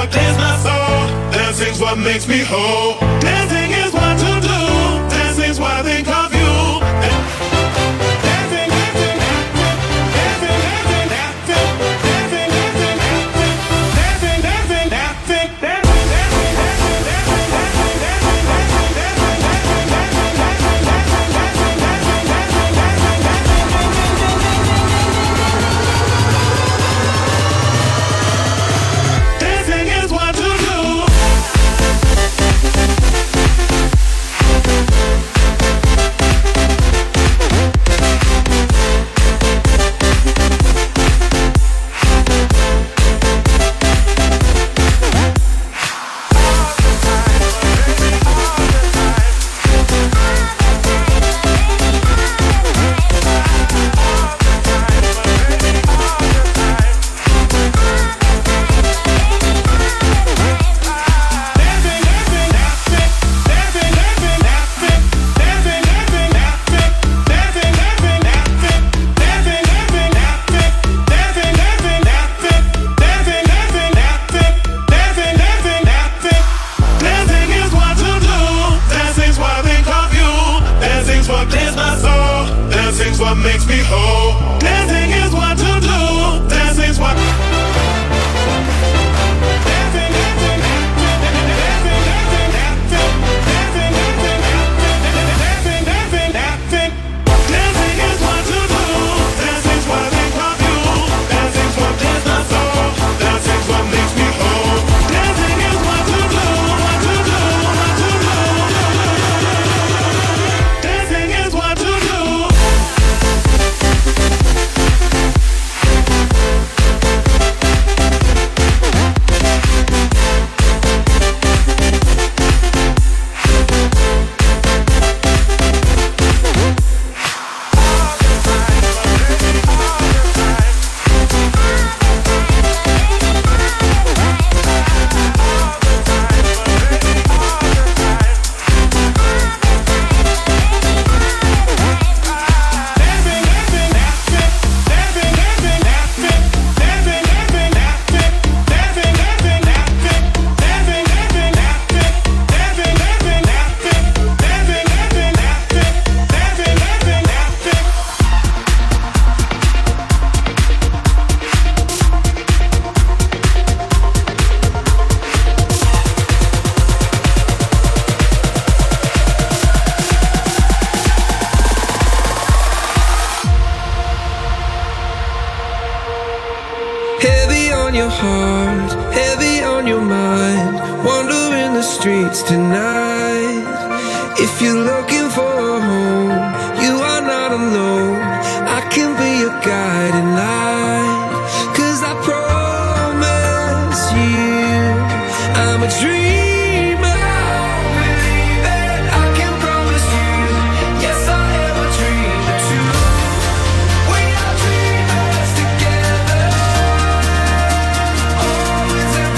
what clears my soul. Dancing's what makes me whole. Dancing is what to do. Dancing's what I think of you.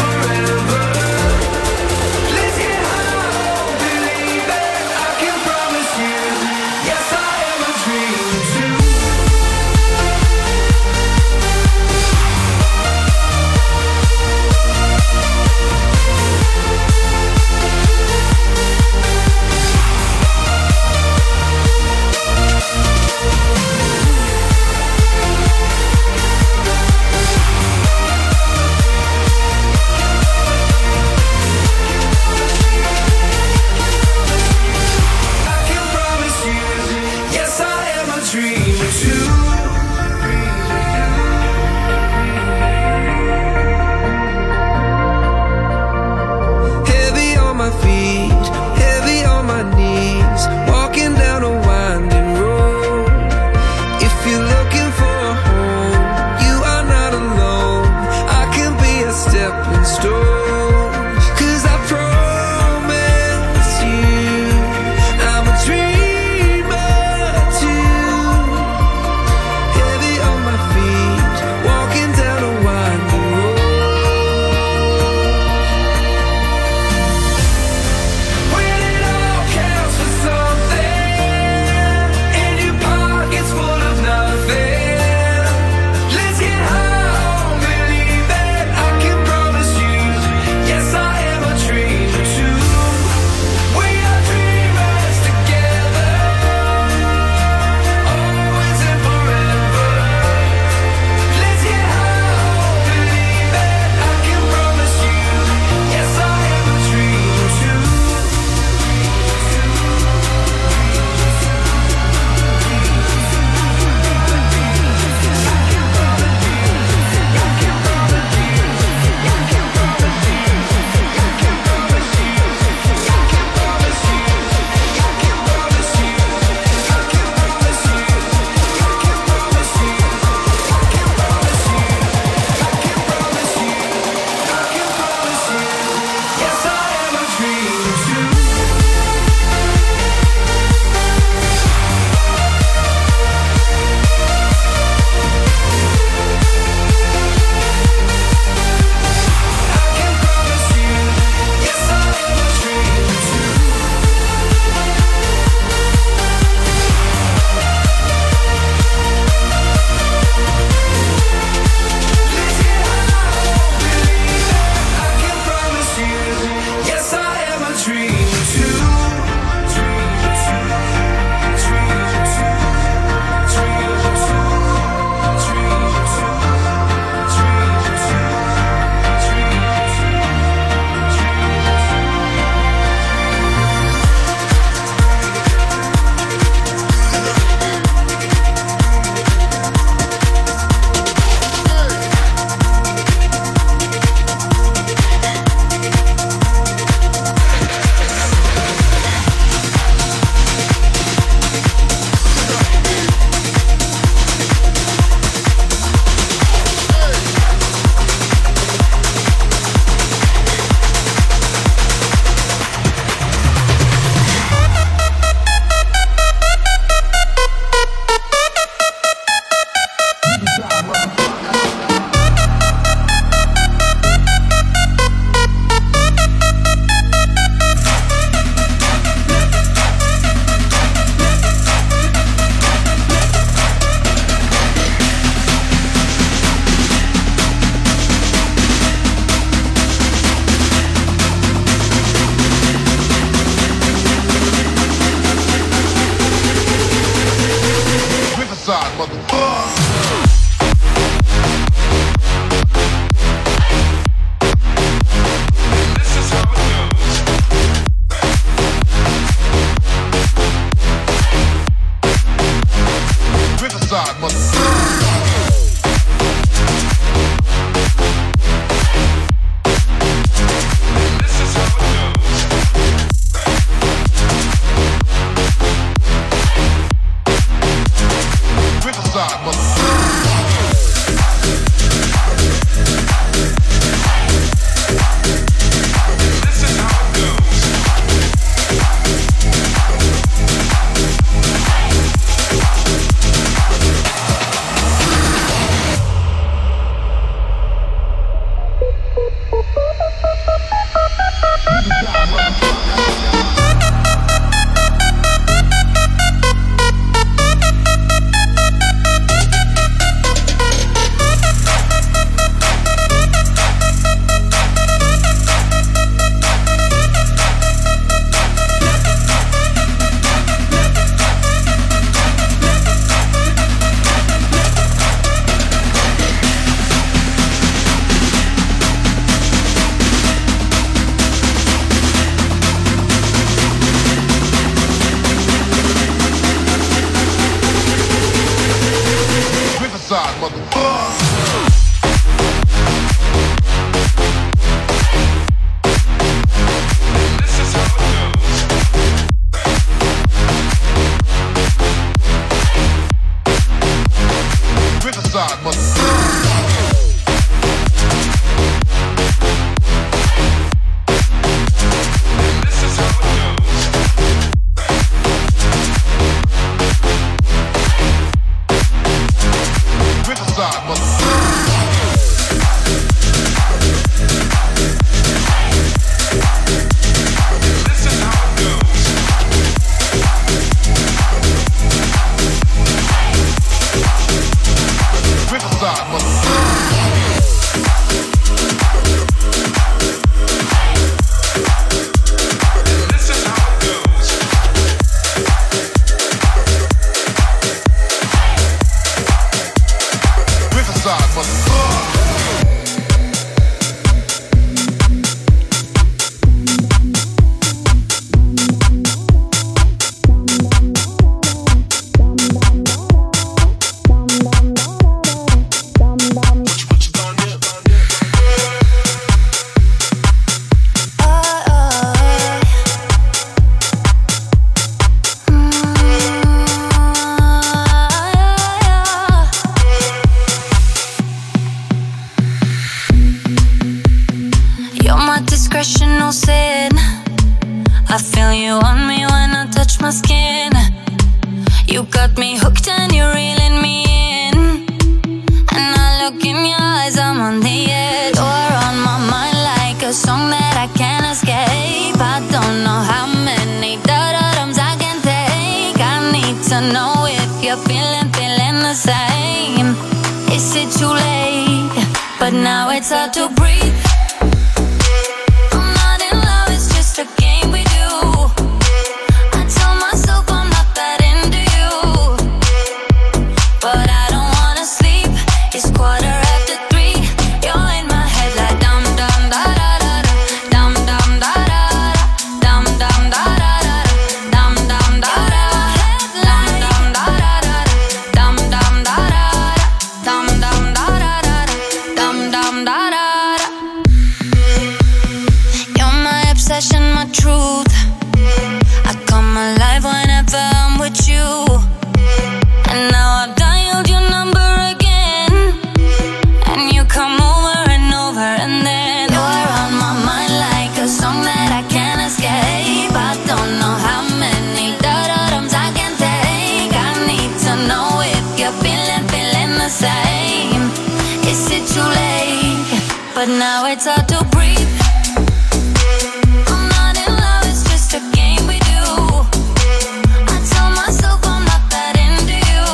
Promise discretion, no sin. I feel you on me when I touch my skin. You got me hooked and you're reeling me in. And I look in your eyes, I'm on the edge. You're on my mind like a song that I can't escape. I don't know how many da-da-dums I can take. I need to know if you're feeling the same. Is it too late? But now it's hard to breathe. I'm not in love, it's just a game we do. I tell myself I'm not that into you, but I don't wanna sleep. It's 3:15. You're in my head like dum dum da da da da, dum dum da da da, dum dum da da da, dum dum da da, dum dum da da da, dum dum da da, dum dum da da da, dum dum da da da. You're my obsession, my truth. I come alive whenever I'm with you. And now I've dialed your number again, and you come over and over, and then you're on my mind like a song that I can't escape. I don't know how many da-da-dums I can take. I need to know if you're feeling the same. Is it too late? But now it's hard to breathe. I'm not in love, it's just a game we do. I tell myself I'm not that into you,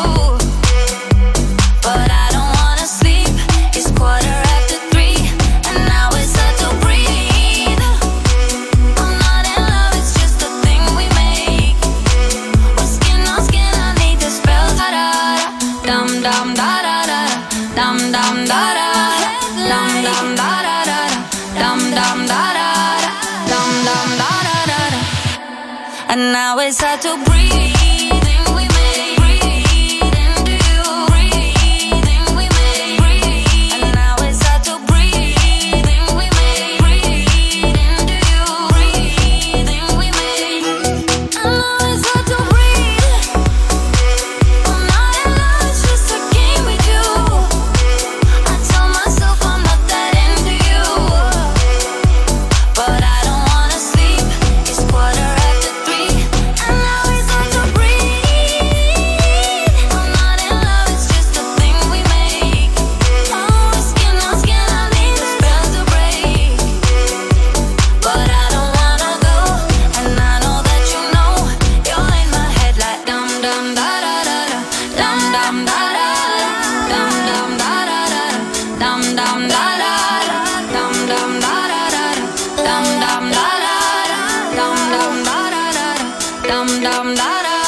but I don't wanna sleep. It's 3:15, and now it's hard to breathe. I'm not in love, it's just a thing we make. We're skin on skin, I need the spell. Da-da-da, dum dum da-da-da, dum dum da-da, dum dum da-da-da, dum dum da-da, dum dum da-da-da. And now it's hard to breathe. We make breathe into you. Breathing we make breathe. And now it's hard to breathe. We make breathe into you. Breathing we make. And now it's hard to breathe. I'm not in love, it's just a game we do. I tell myself I'm not that into you, but I don't wanna sleep. It's 3:15, and now it's hard to breathe. I'm not in love, it's just a thing we make. Oh, skin on skin, I need the spell to break, but I don't wanna go. And I know that you know you're in my head like dum dum da da da da, dum dum da da da, dum dum da da da, dum dum da da da, dum dum da da da, dum dum da da da, dum dum da da da, dum dum da da da.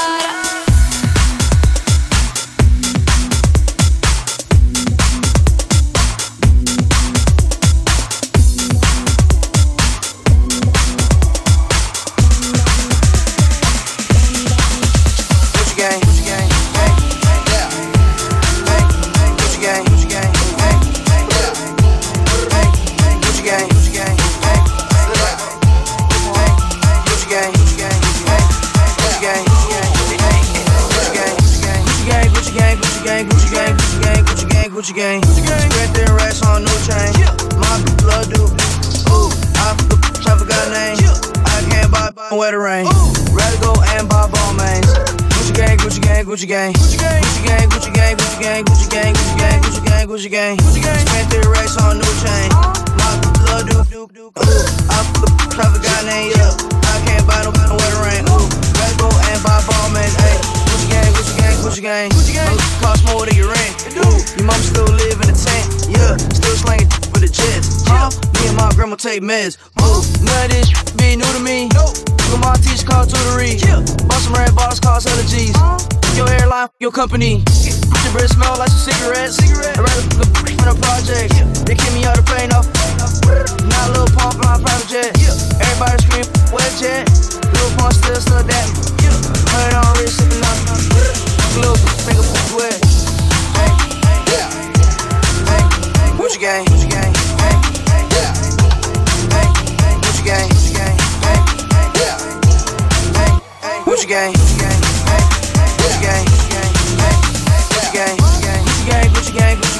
Gucci gang, Gucci gang, hey, yeah, hey, Gucci gang, Gucci gang, hey, yeah, hey, Gucci gang, Gucci gang, hey, yeah, hey, Gucci gang, Gucci gang, hey, Gucci gang, Gucci gang, hey, Gucci gang, Gucci gang, Gucci gang, Gucci gang, Gucci gang, Gucci gang, Gucci gang, Gucci gang, spread their racks on new chain, my blood do, ooh, I forgot name, I can't buy where the rain, rather go and buy ball mains. Gucci gang, Gucci gang, Gucci gang, Gucci gang, Gucci gang, Gucci gang, Gucci gang, Gucci gang, Gucci gang, Gucci gang, Gucci gang, spent 3 racks on new chain. My blood do, I forgot name, yeah. I can't buy no where the rain. Ooh, let's go and buy ball man, ayy. Gucci gang, Gucci gang, Gucci gang, Gucci gang, cost more than your rent. Ooh, your mom still live in a tent, yeah. Still slanging for the jets, huh? Me and my grandma take meds. Ooh, none of this be new to me. Look at my teacher called tutory. Bought some red bottles, cost hella G's. Your hairline, your company. Your breath smell like some cigarettes. I'd rather fuck a project. They kick me out of plane off. Now a little pump on private jet. Everybody scream, wet jet. Little pump still stuck that. Heard on wrist, sipping up. Little finger wet. Hey, yeah. Hey, Gucci gang, Gucci gang. Hey, yeah. Hey, Gucci gang, Gucci gang. Hey, yeah. Hey, Gucci gang, Gucci gang. Hey, Gucci gang, Gucci gang. Hey, Gucci gang, Gucci gang, Gucci gang, Gucci gang, Gucci gang.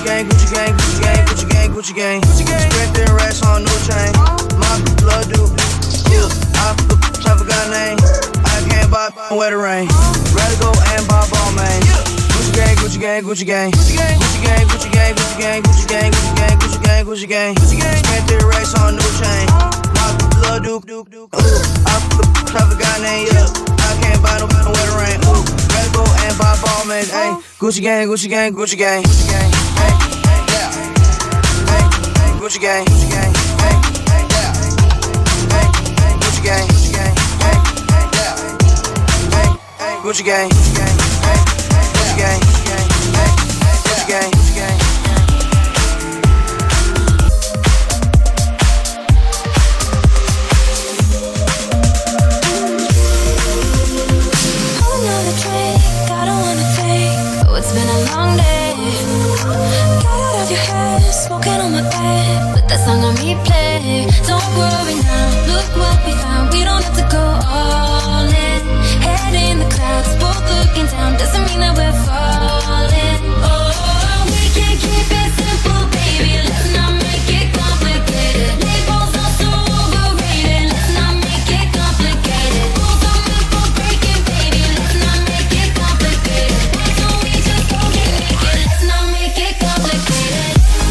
gang, Gucci gang, Gucci gang, Gucci gang, Gucci gang. Spent their racks on new chain. My blood do. I never got a name. I can't buy where the rain. Rather go and buy ball, man. Gucci gang, Gucci gang, Gucci gang. Gucci gang, Gucci gang, Gucci gang, Gucci gang, Gucci gang, Gucci gang, Gucci gang, Gucci gang. Spent their racks on new chain. My blood do. I never got a name. I can't buy no where the rain. Rather go and buy ball, man. Ay, Gucci gang, Gucci gang, Gucci gang, Gucci gang. Hey, yeah. Hey, Gucci gang, Gucci gang. Hey, yeah. Hey, Gucci gang, Gucci gang. Hey, yeah. Hey, Gucci gang, Gucci gang. Hey, Gucci gang, Gucci gang. Hey, Gucci gang, Gucci gang. It's been a long day. Got out of your head, smoking on my bed. Put that song on replay. Don't worry now, look what we found. We don't have to go all in. Head in the clouds, both looking down. Doesn't mean that we're falling. Oh, we can keep it simple, baby. Let's not make it complicated. Labels are so overrated. Let's not make it complicated. Rules are meant for breaking, baby. Let's not make it complicated. Let's not make it complicated.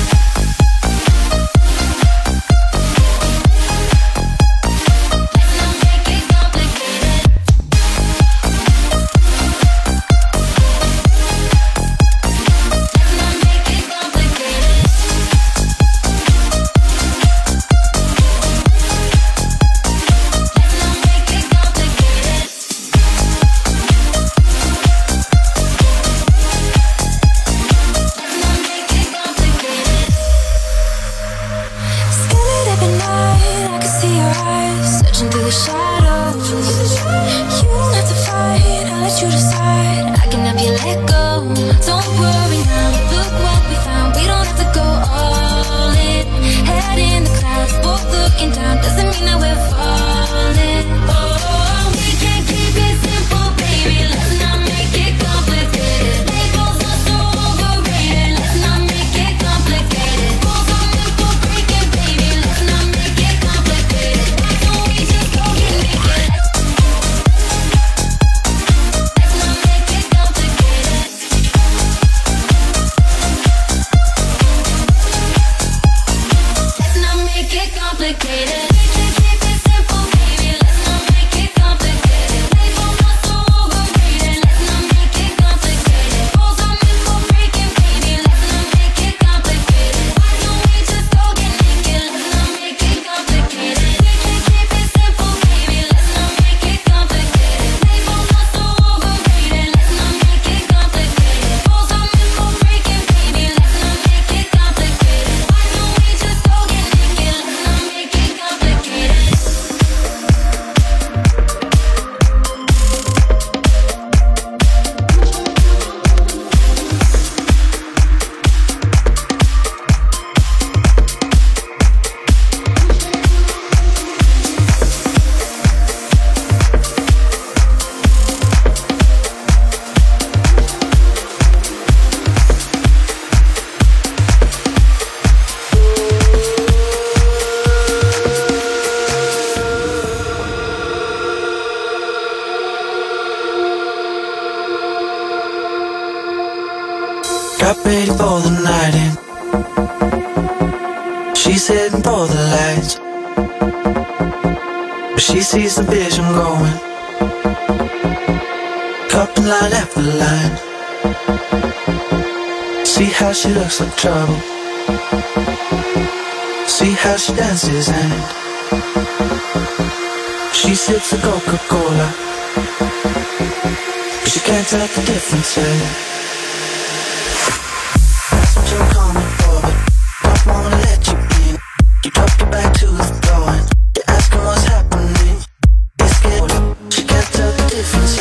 Got ready for the night in. She's heading for the lights, but she sees the vision going. Couple line after line. See how she looks like trouble. See how she dances and she sips a Coca-Cola, but she can't tell the difference. That's what you're coming for, but don't wanna let you in. You drop your back to the floor and you're asking what's happening. You're scared, she can't tell the difference.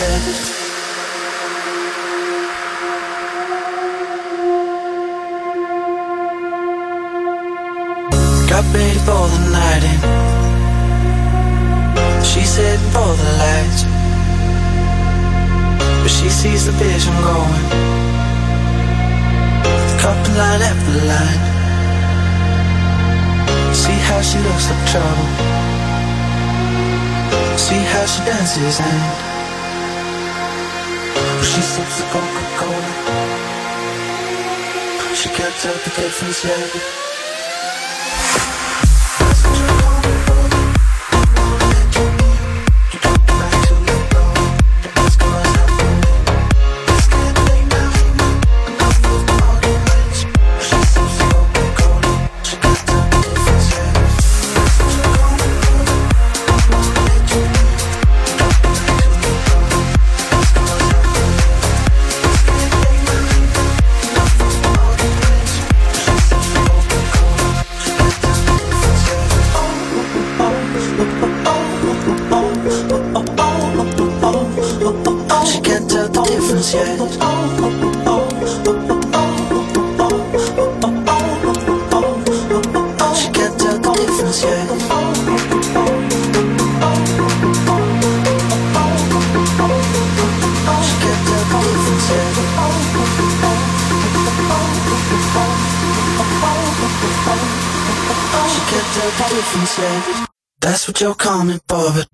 Got ready for the night in. She's heading for the lights, but she sees the vision going. Couple line after line. See how she looks like trouble. See how she dances and she sips the Coca-Cola. She can't tell the difference yet. That's what you're coming for, but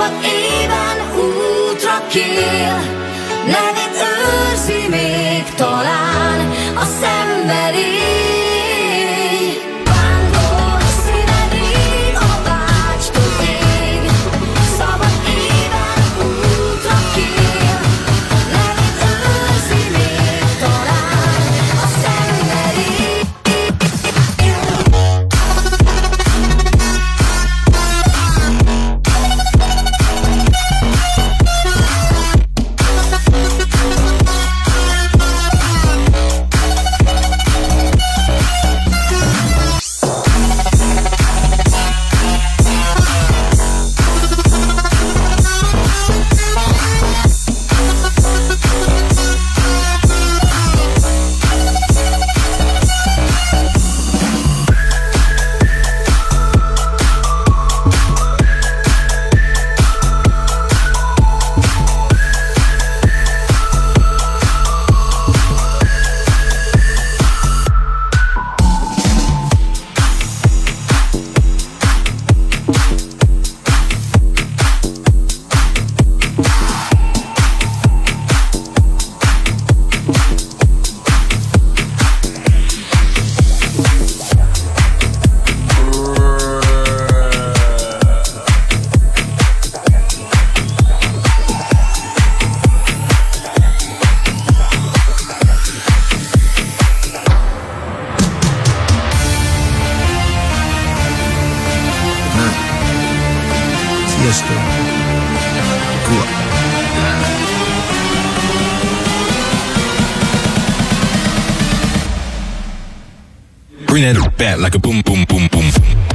Szabad éven útra kél, nevét őrzi még talán a szenvedély. Vándor színedig a vágytól ég, szabad éven útra kél, nevét őrzi még talán a szenvedély. Bring that back like a boom, boom, boom, boom.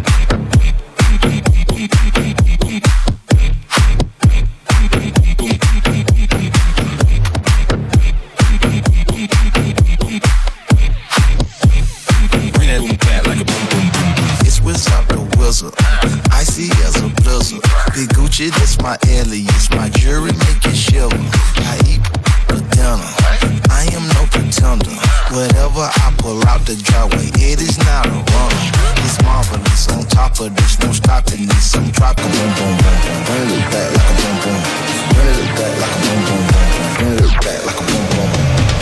That's my alias, my jury make it shiver. I eat for dinner, I am no pretender. Whatever I pull out the driveway, it is not a runner. It's marvelous, on top of this, no stopping this. I'm dropping boom, boom, boom, boom. Bring it back like a boom, boom. Bring it back like a boom, boom, boom. Bring it back like a boom, boom.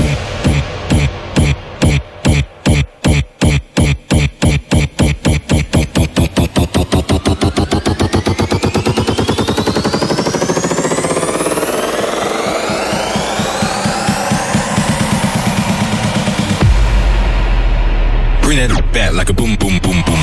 Bring that back like a boom, boom, boom, boom.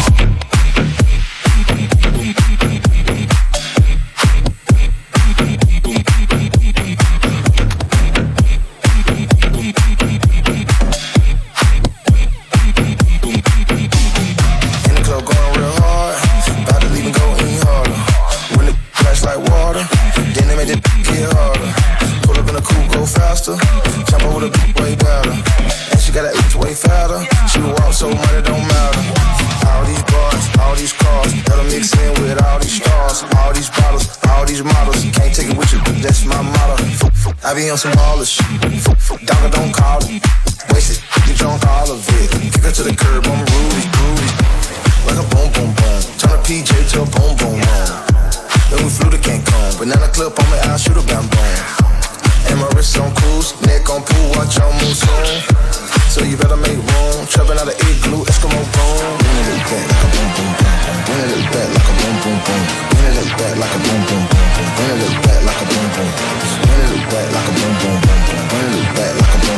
I be on some baller shit. Dogger don't call it. Waste it, get drunk all of it. Kick her to the curb, I'm groovy, groovy. Like a boom, boom, boom. Turn a PJ to a boom, boom, boom. Then we flew to Cancun. Banana clip on me, I'll shoot a bam, boom. And my wrist on cruise, neck on pool, watch y'all move soon. So you better make room. Trapping out of igloo, Eskimo boom. Bring it back like a boom, boom, boom. Bring it back like a boom, boom, boom. Bring it back like a boom, boom, boom. Bring it back like a boom, boom. Bring it back like a boom, boom, boom. Bring it back like a boom,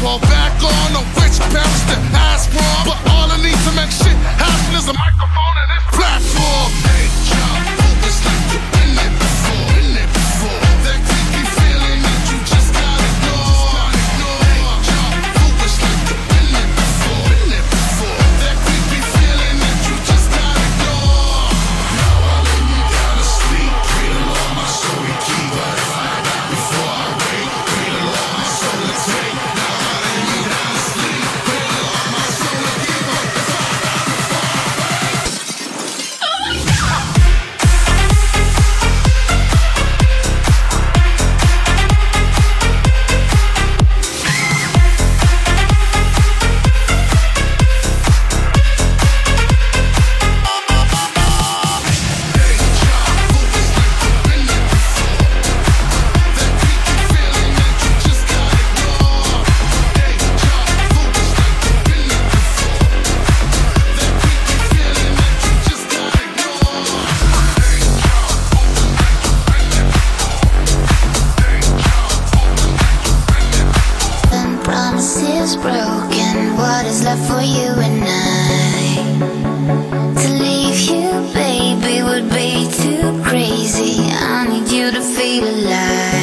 fall back on a witch parents that ask for. But all I need to make shit happen is a microphone and this platform. Hey, job, it's like you've been there before, That creepy feeling that you just gotta ignore. Hey, job, it's like you've been there before, That creepy feeling that you just gotta ignore. Now I lay me down to sleep, pray the Lord my soul he keep. But if I die before I wake, pray the Lord my soul to take. Now I lay me down to sleep, pray the Lord my soul to keep. But if I die before I wake. And promises broken. What is left for you and I? To leave you, baby, would be too crazy. I need you to feel alive.